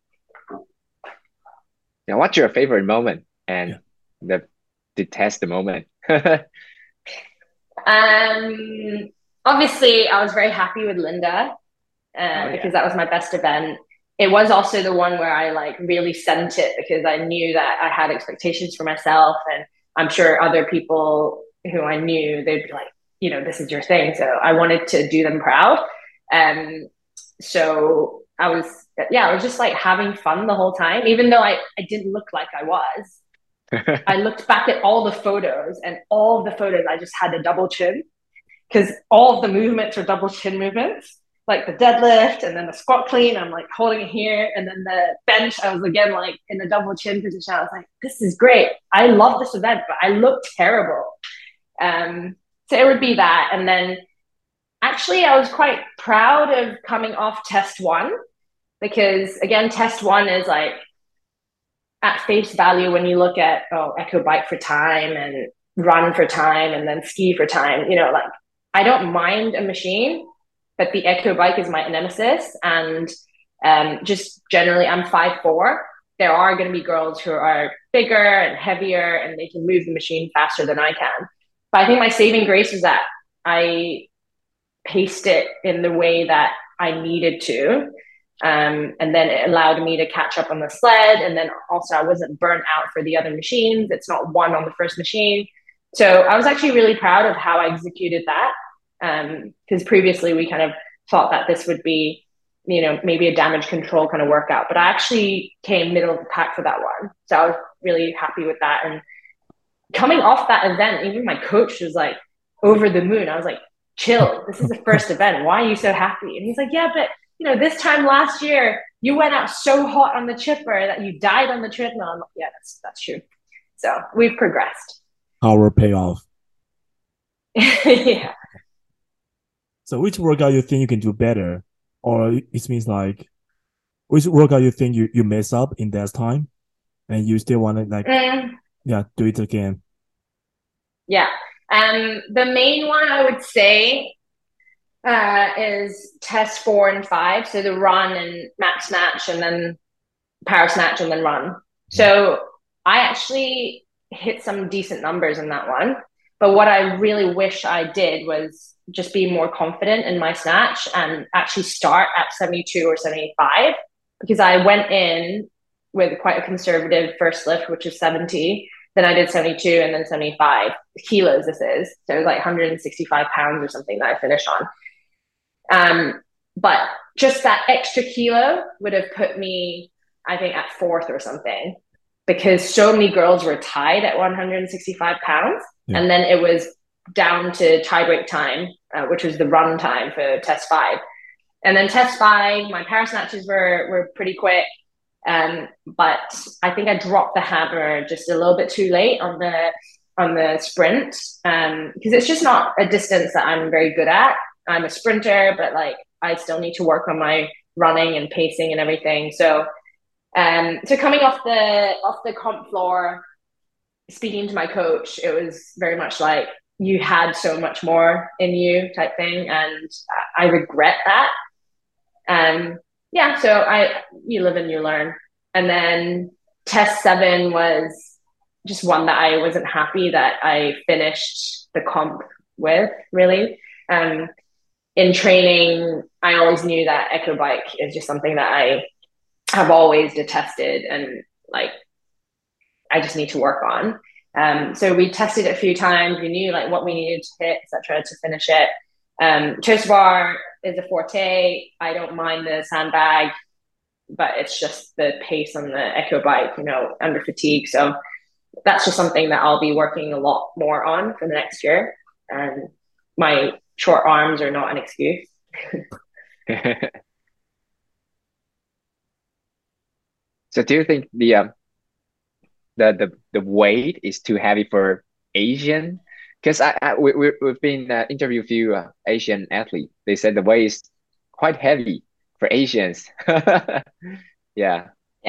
Now, what's your favorite moment and the test the moment? Obviously, I was very happy with Linda because that was my best event. It was also the one where I like really sent it, because I knew that I had expectations for myself, and I'm sure other people who I knew, they'd be like, you know, this is your thing. So I wanted to do them proud. So I was just like having fun the whole time, even though I didn't look like I was. I looked back at all the photos, and all of the photos I just had a double chin, because all of the movements are double chin movements, like the deadlift and then the squat clean. I'm like holding it here, and then the bench, I was again like in the double chin position. I was like, this is great. I love this event, but I look terrible. So it would be that. And then actually, I was quite proud of coming off test one, because again, test one is like at face value when you look at echo bike for time and run for time and then ski for time, like I don't mind a machine, but the echo bike is my nemesis. And just generally, I'm 5'4". There are going to be girls who are bigger and heavier and they can move the machine faster than I can. But I think my saving grace is that I paced it in the way that I needed to. And then it allowed me to catch up on the sled. And then also I wasn't burnt out for the other machines. It's not one on the first machine. So I was actually really proud of how I executed that. Because previously we kind of thought that this would be, maybe a damage control kind of workout, but I actually came middle of the pack for that one. So I was really happy with that. And coming off that event, even my coach was like over the moon. I was like, chill, this is the first event. Why are you so happy? And he's like, yeah, but this time last year, you went out so hot on the chipper that you died on the treadmill. I'm like, yeah, that's true. So we've progressed. Our payoff. Yeah. So which workout you think you can do better? Or it means like, which workout you think you mess up in that time and you still want to do it again? Yeah. The main one I would say is test 4 and 5. So the run and max snatch and then power snatch and then run. So I actually hit some decent numbers in that one. But what I really wish I did was just be more confident in my snatch and actually start at 72 or 75, because I went in with quite a conservative first lift, which is 70. Then I did 72 and then 75 kilos. This is, so it was like 165 pounds or something that I finished on. But just that extra kilo would have put me, I think, at 4th or something, because so many girls were tied at 165 pounds. Yeah. And then it was down to tiebreak time, which was the run time for test 5. And then test 5, my power snatches were pretty quick. But I think I dropped the hammer just a little bit too late on the sprint, because it's just not a distance that I'm very good at. I'm a sprinter, but like I still need to work on my running and pacing and everything. So coming off the comp floor, speaking to my coach, it was very much like, you had so much more in you type thing, and I regret that. So you live and you learn. And then test 7 was just one that I wasn't happy that I finished the comp with, really. In training, I always knew that echo bike is just something that I have always detested, and like I just need to work on. So we tested it a few times. We knew like what we needed to hit, etc., to finish it. Toast bar is a forte. I don't mind the sandbag, but it's just the pace on the echo bike, under fatigue. So that's just something that I'll be working a lot more on for the next year. And my short arms are not an excuse. So do you think the weight is too heavy for Asian? Because we've been interviewed a few Asian athletes. They said the weight is quite heavy for Asians. Yeah.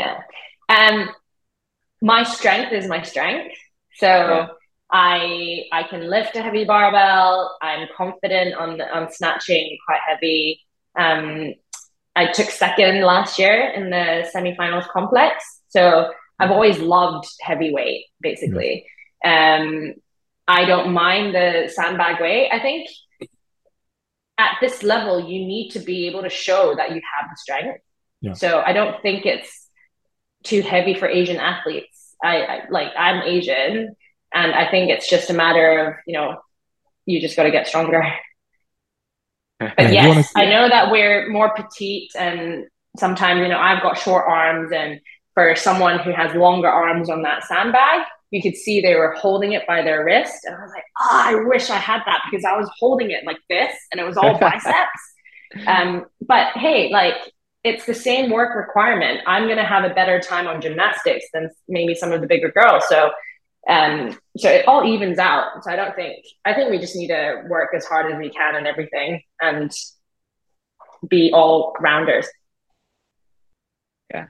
My strength is my strength. So yeah. I can lift a heavy barbell. I'm confident on snatching quite heavy. I took 2nd last year in the semifinals complex. So I've always loved heavyweight, basically. I don't mind the sandbag weight. I think at this level, you need to be able to show that you have the strength. Yeah. So I don't think it's too heavy for Asian athletes. I'm Asian, and I think it's just a matter of, you just got to get stronger. But yes, I know that we're more petite, and sometimes, I've got short arms, and for someone who has longer arms on that sandbag, you could see they were holding it by their wrist. And I was like, oh, I wish I had that, because I was holding it like this and it was all biceps. But hey, like, it's the same work requirement. I'm going to have a better time on gymnastics than maybe some of the bigger girls. So it all evens out. So I think we just need to work as hard as we can and everything and be all rounders. Yeah.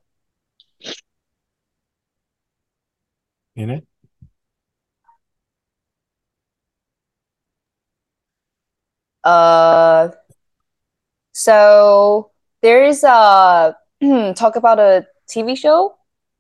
In it? So there is a talk about a TV show.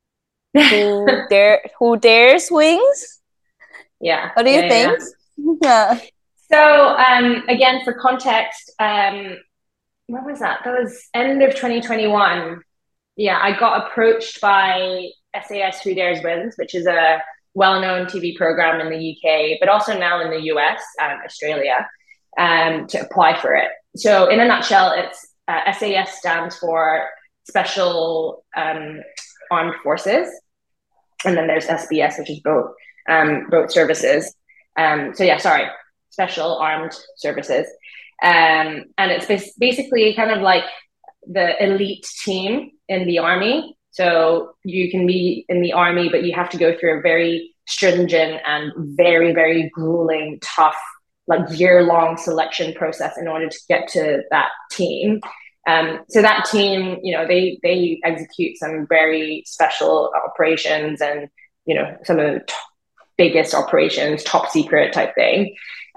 Who dares wings? Yeah. What do you think? Yeah. So again, for context, what was that? That was end of 2021. Yeah, I got approached by SAS Who Dares Wins, which is a well-known TV program in the UK, but also now in the US and Australia, to apply for it. So in a nutshell, it's SAS stands for Special Armed Forces, and then there's SBS, which is boat services. Special Armed Services. And it's basically kind of like the elite team in the army. So you can be in the army, but you have to go through a very stringent and very, very grueling, tough, like year-long selection process in order to get to that team. So that team, you know, they execute some very special operations and, you know, some of the biggest operations, top secret type thing.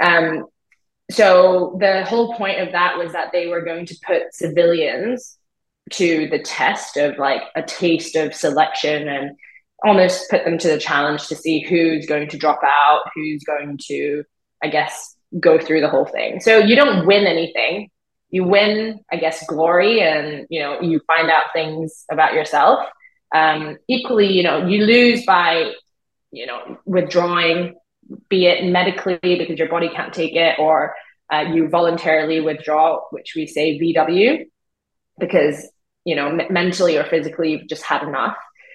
So the whole point of that was that they were going to put civilians to the test of like a taste of selection and almost put them to the challenge to see who's going to drop out, who's going to, I guess, go through the whole thing. So you don't win anything. You win, I guess, glory, and, you know, you find out things about yourself. Equally, you know, you lose by, you know, withdrawing, be it medically because your body can't take it, or you voluntarily withdraw, which we say VW, because, you know, mentally or physically you've just had enough.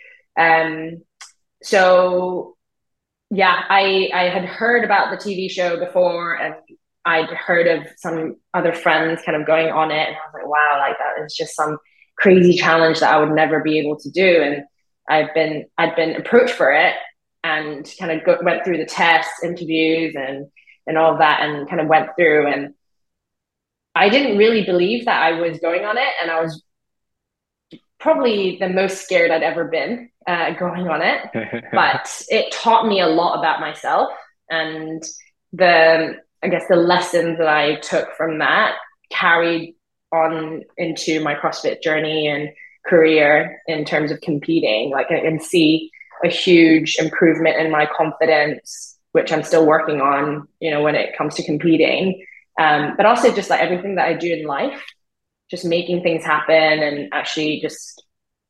So yeah, I had heard about the TV show before, and I'd heard of some other friends kind of going on it, and I was like, wow, like that is just some crazy challenge that I would never be able to do. And I'd been approached for it, and kind of went through the tests, interviews, and all of that, and kind of went through. And I didn't really believe that I was going on it, and I was probably the most scared I'd ever been going on it. But it taught me a lot about myself, and I guess the lessons that I took from that carried on into my CrossFit journey and career in terms of competing. Like, I can see a huge improvement in my confidence, which I'm still working on, you know, when it comes to competing. But also just like everything that I do in life, just making things happen and actually just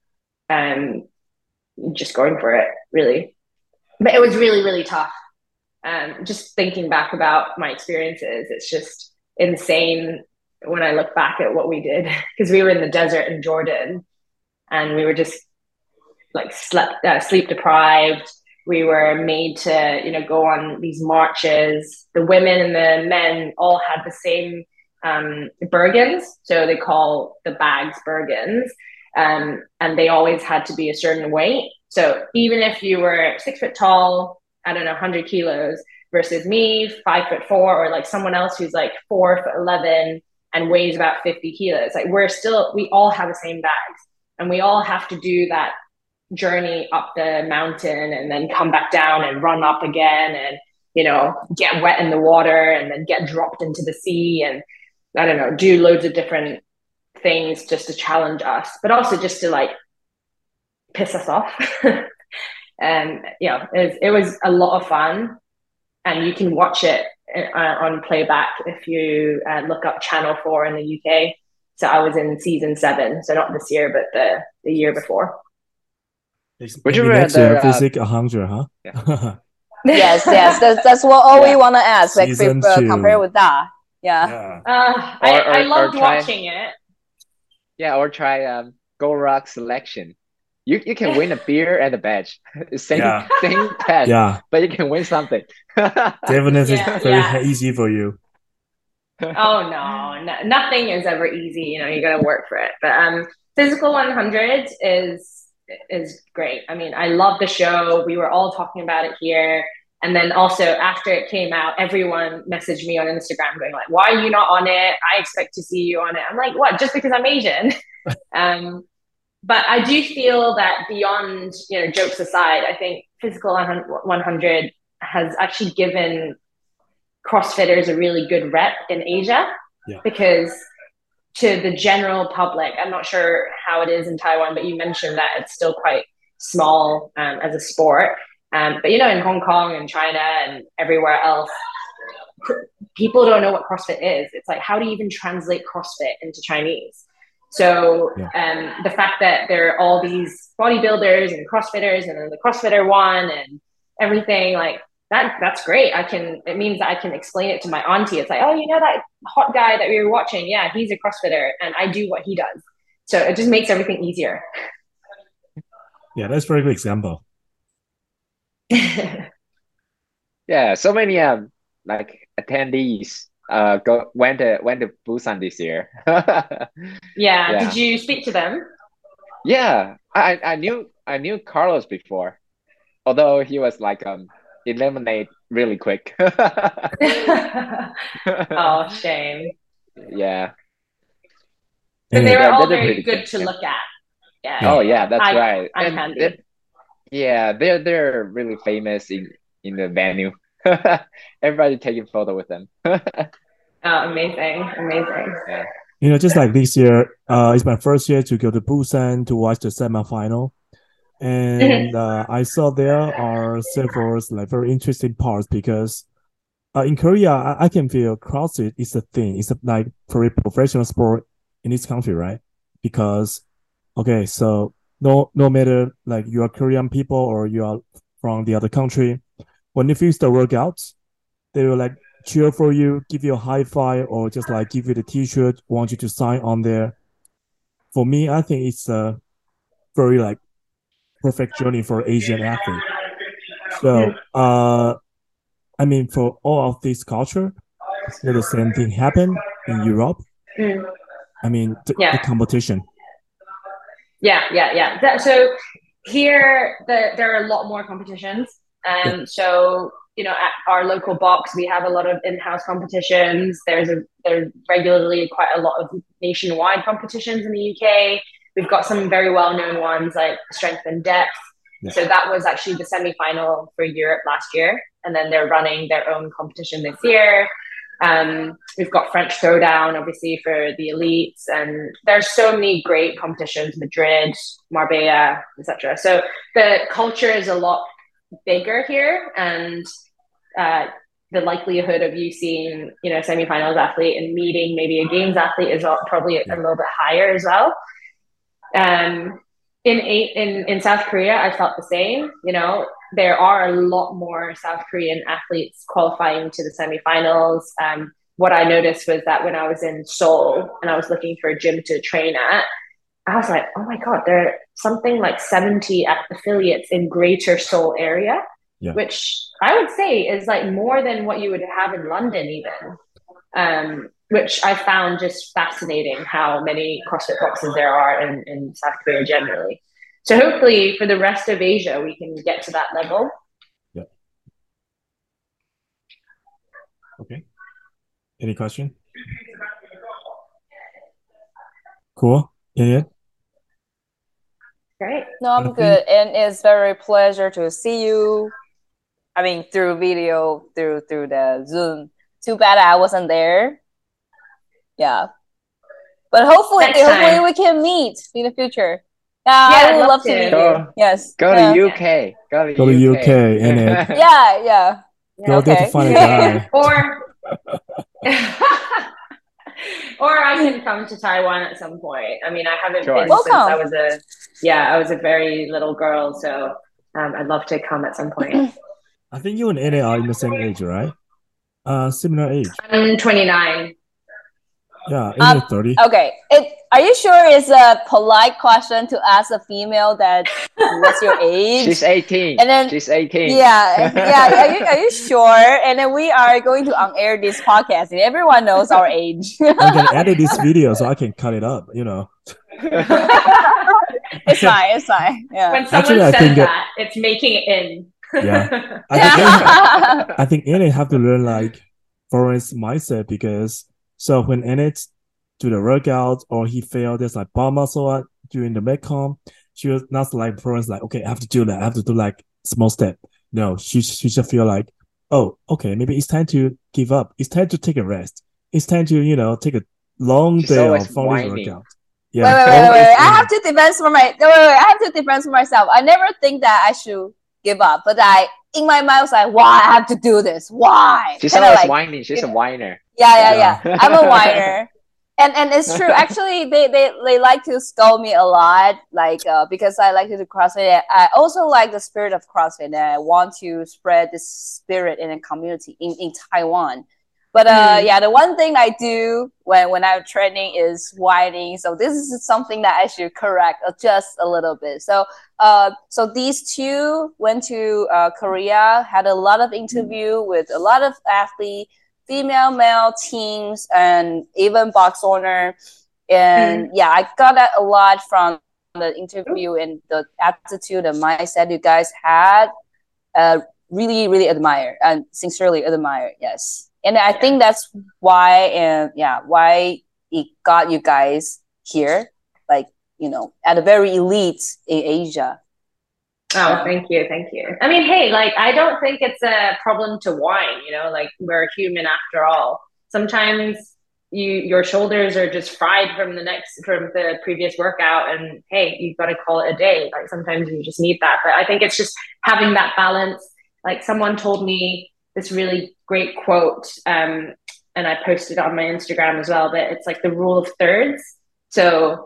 going for it, really. But it was really, really tough. Just thinking back about my experiences, it's just insane when I look back at what we did, because we were in the desert in Jordan, and we were just like sleep deprived. We were made to, you know, go on these marches. The women and the men all had the same Bergens, so they call the bags Bergens, and they always had to be a certain weight. So even if you were 6 foot tall, I don't know, 100 kilos, versus me, 5'4", or like someone else who's like 4'11" and weighs about 50 kilos, like we all have the same bags, and we all have to do that journey up the mountain and then come back down and run up again, and, you know, get wet in the water and then get dropped into the sea, and I don't know, do loads of different things just to challenge us, but also just to like piss us off. And yeah, it was a lot of fun, and you can watch it on playback if you look up Channel 4 in the UK. So I was in season 7, so not this year, but the year before. Would you rather physique 100, huh? Yeah. yes, that's what all we want to ask. Like, compare with that. Yeah. I loved watching it. Yeah, or try Go Rock Selection. You can win a beer and a badge. Same Yeah. same test, Yeah. but you can win something. Definitely Yeah, very yeah. easy for you. Oh no, nothing is ever easy. You know, you got to work for it. But Physical 100 is great. I mean, I love the show. We were all talking about it here. And then also after it came out, everyone messaged me on Instagram going like, "Why are you not on it? I expect to see you on it." I'm like, "What? Just because I'm Asian?" But I do feel that beyond, jokes aside, I think Physical 100 has actually given CrossFitters a really good rep in Asia, because to the general public, I'm not sure how it is in Taiwan, but you mentioned that it's still quite small as a sport. But in Hong Kong and China and everywhere else, people don't know what CrossFit is. It's like, how do you even translate CrossFit into Chinese? So the fact that there are all these bodybuilders and CrossFitters and then the CrossFitter one and everything, like that's great. It means that I can explain it to my auntie. It's like, oh, that hot guy that we were watching? Yeah, he's a CrossFitter and I do what he does. So it just makes everything easier. Yeah, that's a very good example. Yeah, so many like attendees went to Busan this year. Yeah. Did you speak to them? Yeah, I knew Carlos before, although he was like eliminated really quick. Oh, shame. Yeah. But they were all they're very pretty good to look at. Yeah. Oh yeah, that's right. I'm handy. They're really famous in the venue. Everybody taking photo with them. Oh, amazing. Yeah. Just like this year, it's my first year to go to Busan to watch the semifinal. And I saw there are several like very interesting parts because in Korea, I can feel CrossFit is a thing. It's like very professional sport in this country, right? Because, okay, so no matter like you are Korean people or you are from the other country, when you finish the workouts, they will like cheer for you, give you a high five, or just like give you the T-shirt, want you to sign on there. For me, I think it's a very like perfect journey for Asian athlete. So, I mean, for all of this culture, will the same thing happen in Europe? I mean, the competition. Yeah. So here, there are a lot more competitions. So, at our local box, we have a lot of in-house competitions. There's regularly quite a lot of nationwide competitions in the UK. We've got some very well-known ones like Strength and Depth. So that was actually the semi-final for Europe last year. And then they're running their own competition this year. We've got French Throwdown, obviously, for the elites. And there's so many great competitions, Madrid, Marbella, etc. So the culture is a lot bigger here. And the likelihood of you seeing, semifinals athlete and meeting maybe a games athlete is probably a little bit higher as well. In South Korea, I felt the same. There are a lot more South Korean athletes qualifying to the semifinals. What I noticed was that when I was in Seoul and I was looking for a gym to train at, I was like, oh my God, there are something like 70 affiliates in Greater Seoul area, which I would say is like more than what you would have in London even. Which I found just fascinating how many CrossFit boxes there are in South Korea generally. So hopefully for the rest of Asia, we can get to that level. Yeah. Okay. Any question? Cool. Yeah. Great. No, I'm good. And it's very pleasure to see you. I mean, through video, through the Zoom. Too bad I wasn't there. Yeah, but hopefully we can meet in the future. I would love to meet you. Yes. Go to UK. Go to UK. In it. Yeah. Go there to find a guy. Or I can come to Taiwan at some point. I mean, I haven't been Welcome. since I was a very little girl. So I'd love to come at some point. I think you and Annie are in the same age, right? Similar age. I'm 29. Yeah, in 30. Okay. Are you sure it's a polite question to ask a female that what's your age? She's 18. And then she's 18. Yeah. Are you sure? And then we are going to on-air this podcast, and everyone knows our age. I'm gonna edit this video so I can cut it up. It's fine. Yeah. When someone says that, it's making it in. Yeah. I think Enid have to learn like Florence mindset, because so when Enid do the workout or he failed, there's like bar muscle up during the Metcon, she was not like Florence, like, okay, I have to do that. I have to do like small step. No, she just feel like, oh, okay, maybe it's time to give up. It's time to take a rest. It's time to, take a long day of following workout. Yeah. Wait. I have to defend for I have to defend for myself. I never think that I should give up, but in my mind I was like, why I have to do this? Why? She's always whining. She's a whiner. Yeah. I'm a whiner. And it's true. Actually, they like to scold me a lot, like because I like to do CrossFit. I also like the spirit of CrossFit, and I want to spread this spirit in a community in Taiwan. But the one thing I do when I'm training is whining. So this is something that I should correct just a little bit. So these two went to Korea, had a lot of interview with a lot of athletes, female, male teams, and even box owner. And I got that a lot from the interview, and the attitude and mindset you guys had. Really, really admire and sincerely admire. Yes. And I think that's why, why it got you guys here, like, at a very elite in Asia. Oh, thank you. I mean, hey, like, I don't think it's a problem to whine, like, we're human after all. Sometimes your shoulders are just fried from the previous workout, and hey, you've got to call it a day. Like, sometimes you just need that. But I think it's just having that balance. Like, someone told me this really great quote, and I posted it on my Instagram as well, but it's like the rule of thirds. So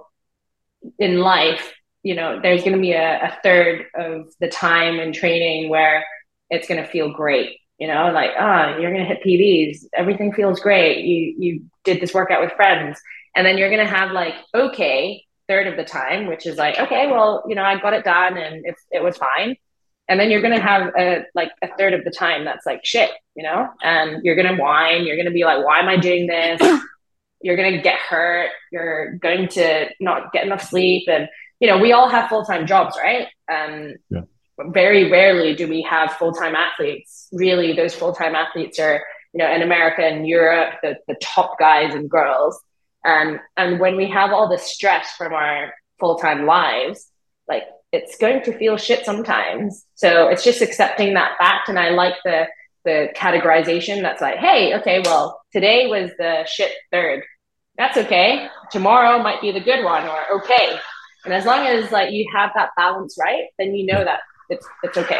in life, there's going to be a third of the time in training where it's going to feel great, like, you're going to hit PBs. Everything feels great. You did this workout with friends. And then you're going to have like, okay, third of the time, which is like, okay, well, I got it done and it was fine. And then you're going to have a third of the time that's like shit, and you're going to whine. You're going to be like, why am I doing this? You're going to get hurt. You're going to not get enough sleep. And, we all have full-time jobs, right? Very rarely do we have full-time athletes. Really, those full-time athletes are, in America and Europe, the top guys and girls. And when we have all the stress from our full-time lives, like, it's going to feel shit sometimes. So it's just accepting that fact. And I like the categorization that's like, hey, okay, well, today was the shit third. That's okay. Tomorrow might be the good one, or okay. And as long as like you have that balance right, then that it's okay.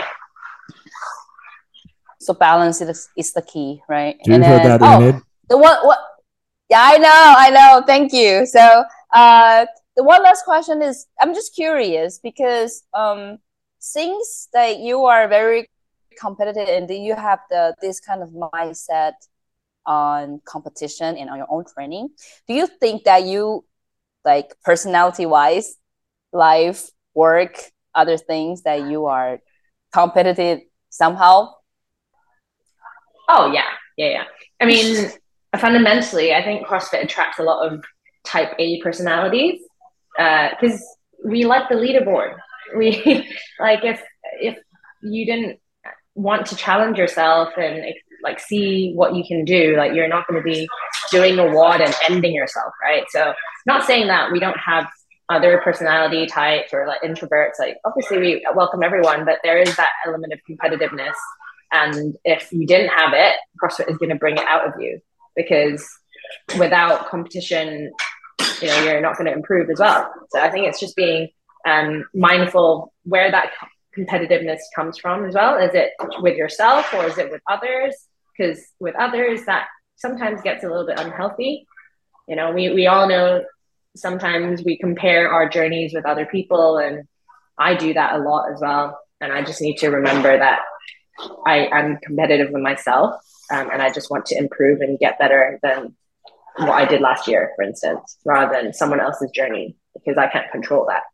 So balance is the key, right? Do you hear that, Enid? What? Yeah, I know. Thank you. So the one last question is, I'm just curious because since that you are very competitive and you have this kind of mindset on competition and on your own training, do you think that you, like, personality-wise, life, work, other things, that you are competitive somehow? Oh, yeah. I mean, fundamentally, I think CrossFit attracts a lot of type A personalities because we like the leaderboard. We like if you didn't want to challenge yourself and like see what you can do, like, you're not going to be doing a WOD and ending yourself, right? So not saying that we don't have other personality types or like introverts. Like, obviously we welcome everyone, but there is that element of competitiveness. And if you didn't have it, CrossFit is going to bring it out of you, because without competition, you're not going to improve as well. So I think it's just being mindful where that competitiveness comes from as well. Is it with yourself or is it with others? Because with others, that sometimes gets a little bit unhealthy. We all know sometimes we compare our journeys with other people, and I do that a lot as well. And I just need to remember that I'm competitive with myself, and I just want to improve and get better than what I did last year, for instance, rather than someone else's journey, because I can't control that.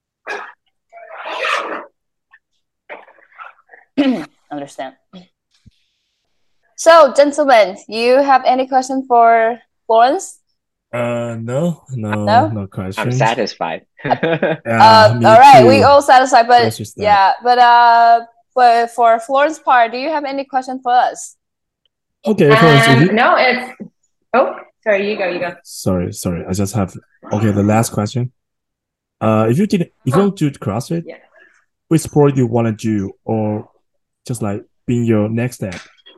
Understand. So, gentlemen, you have any question for Florence? No questions. I'm satisfied. Yeah, all right, too. we all satisfied, but yeah, but for Florence part, do you have any question for us? Okay, Florence. No, it's. Oh, sorry, you go. Sorry. I just have the last question. If you don't do CrossFit, which sport do you want to do, or just like being your next step?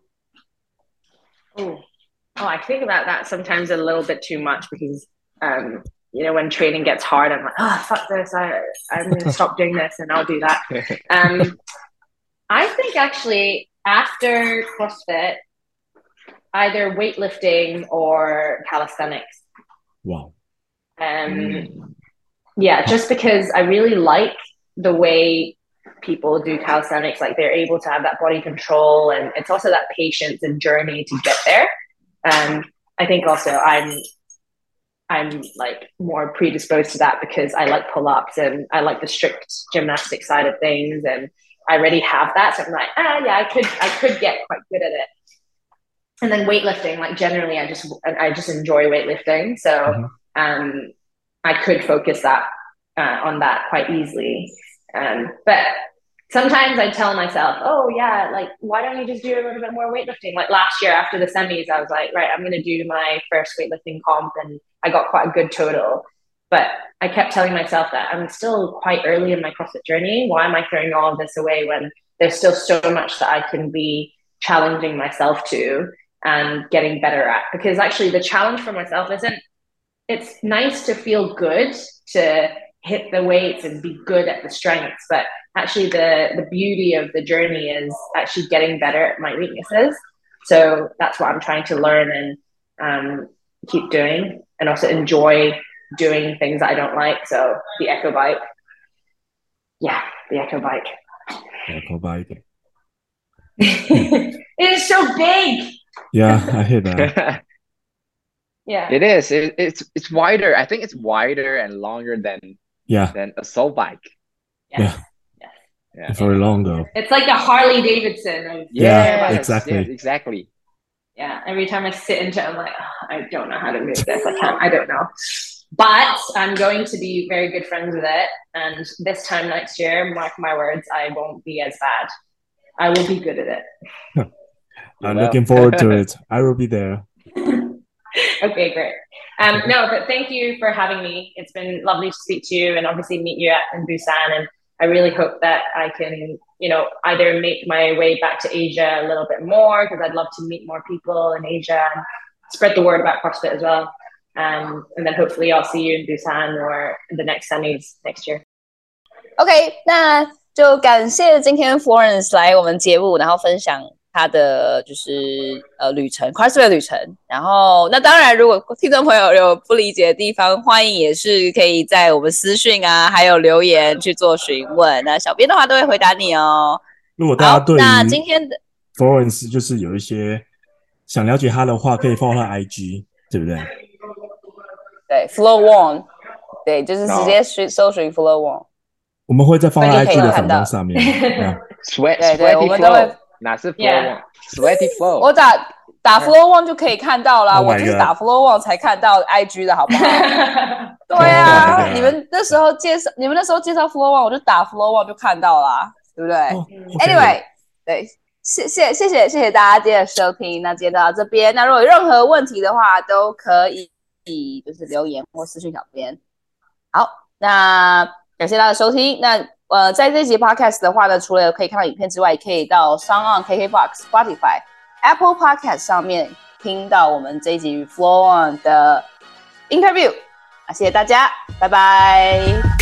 Oh, I think about that sometimes a little bit too much because, when training gets hard, I'm like, oh, fuck this. I'm going to stop doing this and I'll do that. I think actually after CrossFit, either weightlifting or calisthenics. Wow. Yeah, just because I really like the way people do calisthenics, like they're able to have that body control, and it's also that patience and journey to get there. I think also I'm like more predisposed to that because I like pull-ups and I like the strict gymnastic side of things, and I already have that. So I'm like, yeah, I could get quite good at it. And then weightlifting, like generally, I just enjoy weightlifting, so I could focus that on that quite easily. But sometimes I tell myself, oh yeah, like why don't you just do a little bit more weightlifting? Like last year after the semis, I was like, right, I'm going to do my first weightlifting comp, and I got quite a good total. But I kept telling myself that I'm still quite early in my CrossFit journey. Why am I throwing all of this away when there's still so much that I can be challenging myself to and getting better at? Because actually the challenge for myself it's nice to feel good, to hit the weights and be good at the strengths, but actually the beauty of the journey is actually getting better at my weaknesses. So that's what I'm trying to learn and keep doing, and also enjoy doing things I don't like. So the Echo Bike. Yeah, the Echo Bike. Echo Bike. It is so big. Yeah, I hear that. Yeah, it is. It's wider. I think it's wider and longer than a soul bike. Yeah. Very long though. It's like a Harley Davidson. Exactly. Yeah, every time I sit into it, I'm like, oh, I don't know how to move this. I don't know. But I'm going to be very good friends with it. And this time next year, mark my words, I won't be as bad. I will be good at it. I'm looking forward to it. I will be there. Okay, great. No, but thank you for having me. It's been lovely to speak to you and obviously meet you in Busan. And I really hope that I can, either make my way back to Asia a little bit more, because I'd love to meet more people in Asia and spread the word about CrossFit as well. And then hopefully I'll see you in Busan or in the next semis next year. OK， 那就感謝今天 Florence 來我們節目，然後分享他的就是旅程 CrossFit 的旅程。然後那當然，如果聽眾朋友有不理解的地方，歡迎也是可以在我們私訊啊，還有留言去做詢問。那小編的話都會回答你哦。 如果大家對於那今天的 Florence 就是有一些想了解他的話，可以 follow 他 IG， 對不對？ 對 ，Flo Wong， 對，就是直接搜尋 Flo Wong。 我們會再放在 IG 的訪綱上面。 對，我們都會。 哪是 Flo Wong？Sweaty Flo。 我打 Flo Wong 就可以看到啦。我就是打 Flo Wong 才看到 IG 的好不好？對啊，你們那時候介紹 Flo Wong， 我就打 Flo Wong 就看到啦，對不對？Anyway， 對，謝謝大家今天的收聽。那今天到這邊，那如果有任何問題的話，都可以就是留言或私訊小編。好，那感謝大家的收聽。那在這集 podcast 的話呢，除了可以看到影片之外，也可以到 SoundOn、KKBOX、Spotify、Apple Podcast 上面聽到我們這一集與 Flo Wong 的 interview。謝謝大家，拜拜。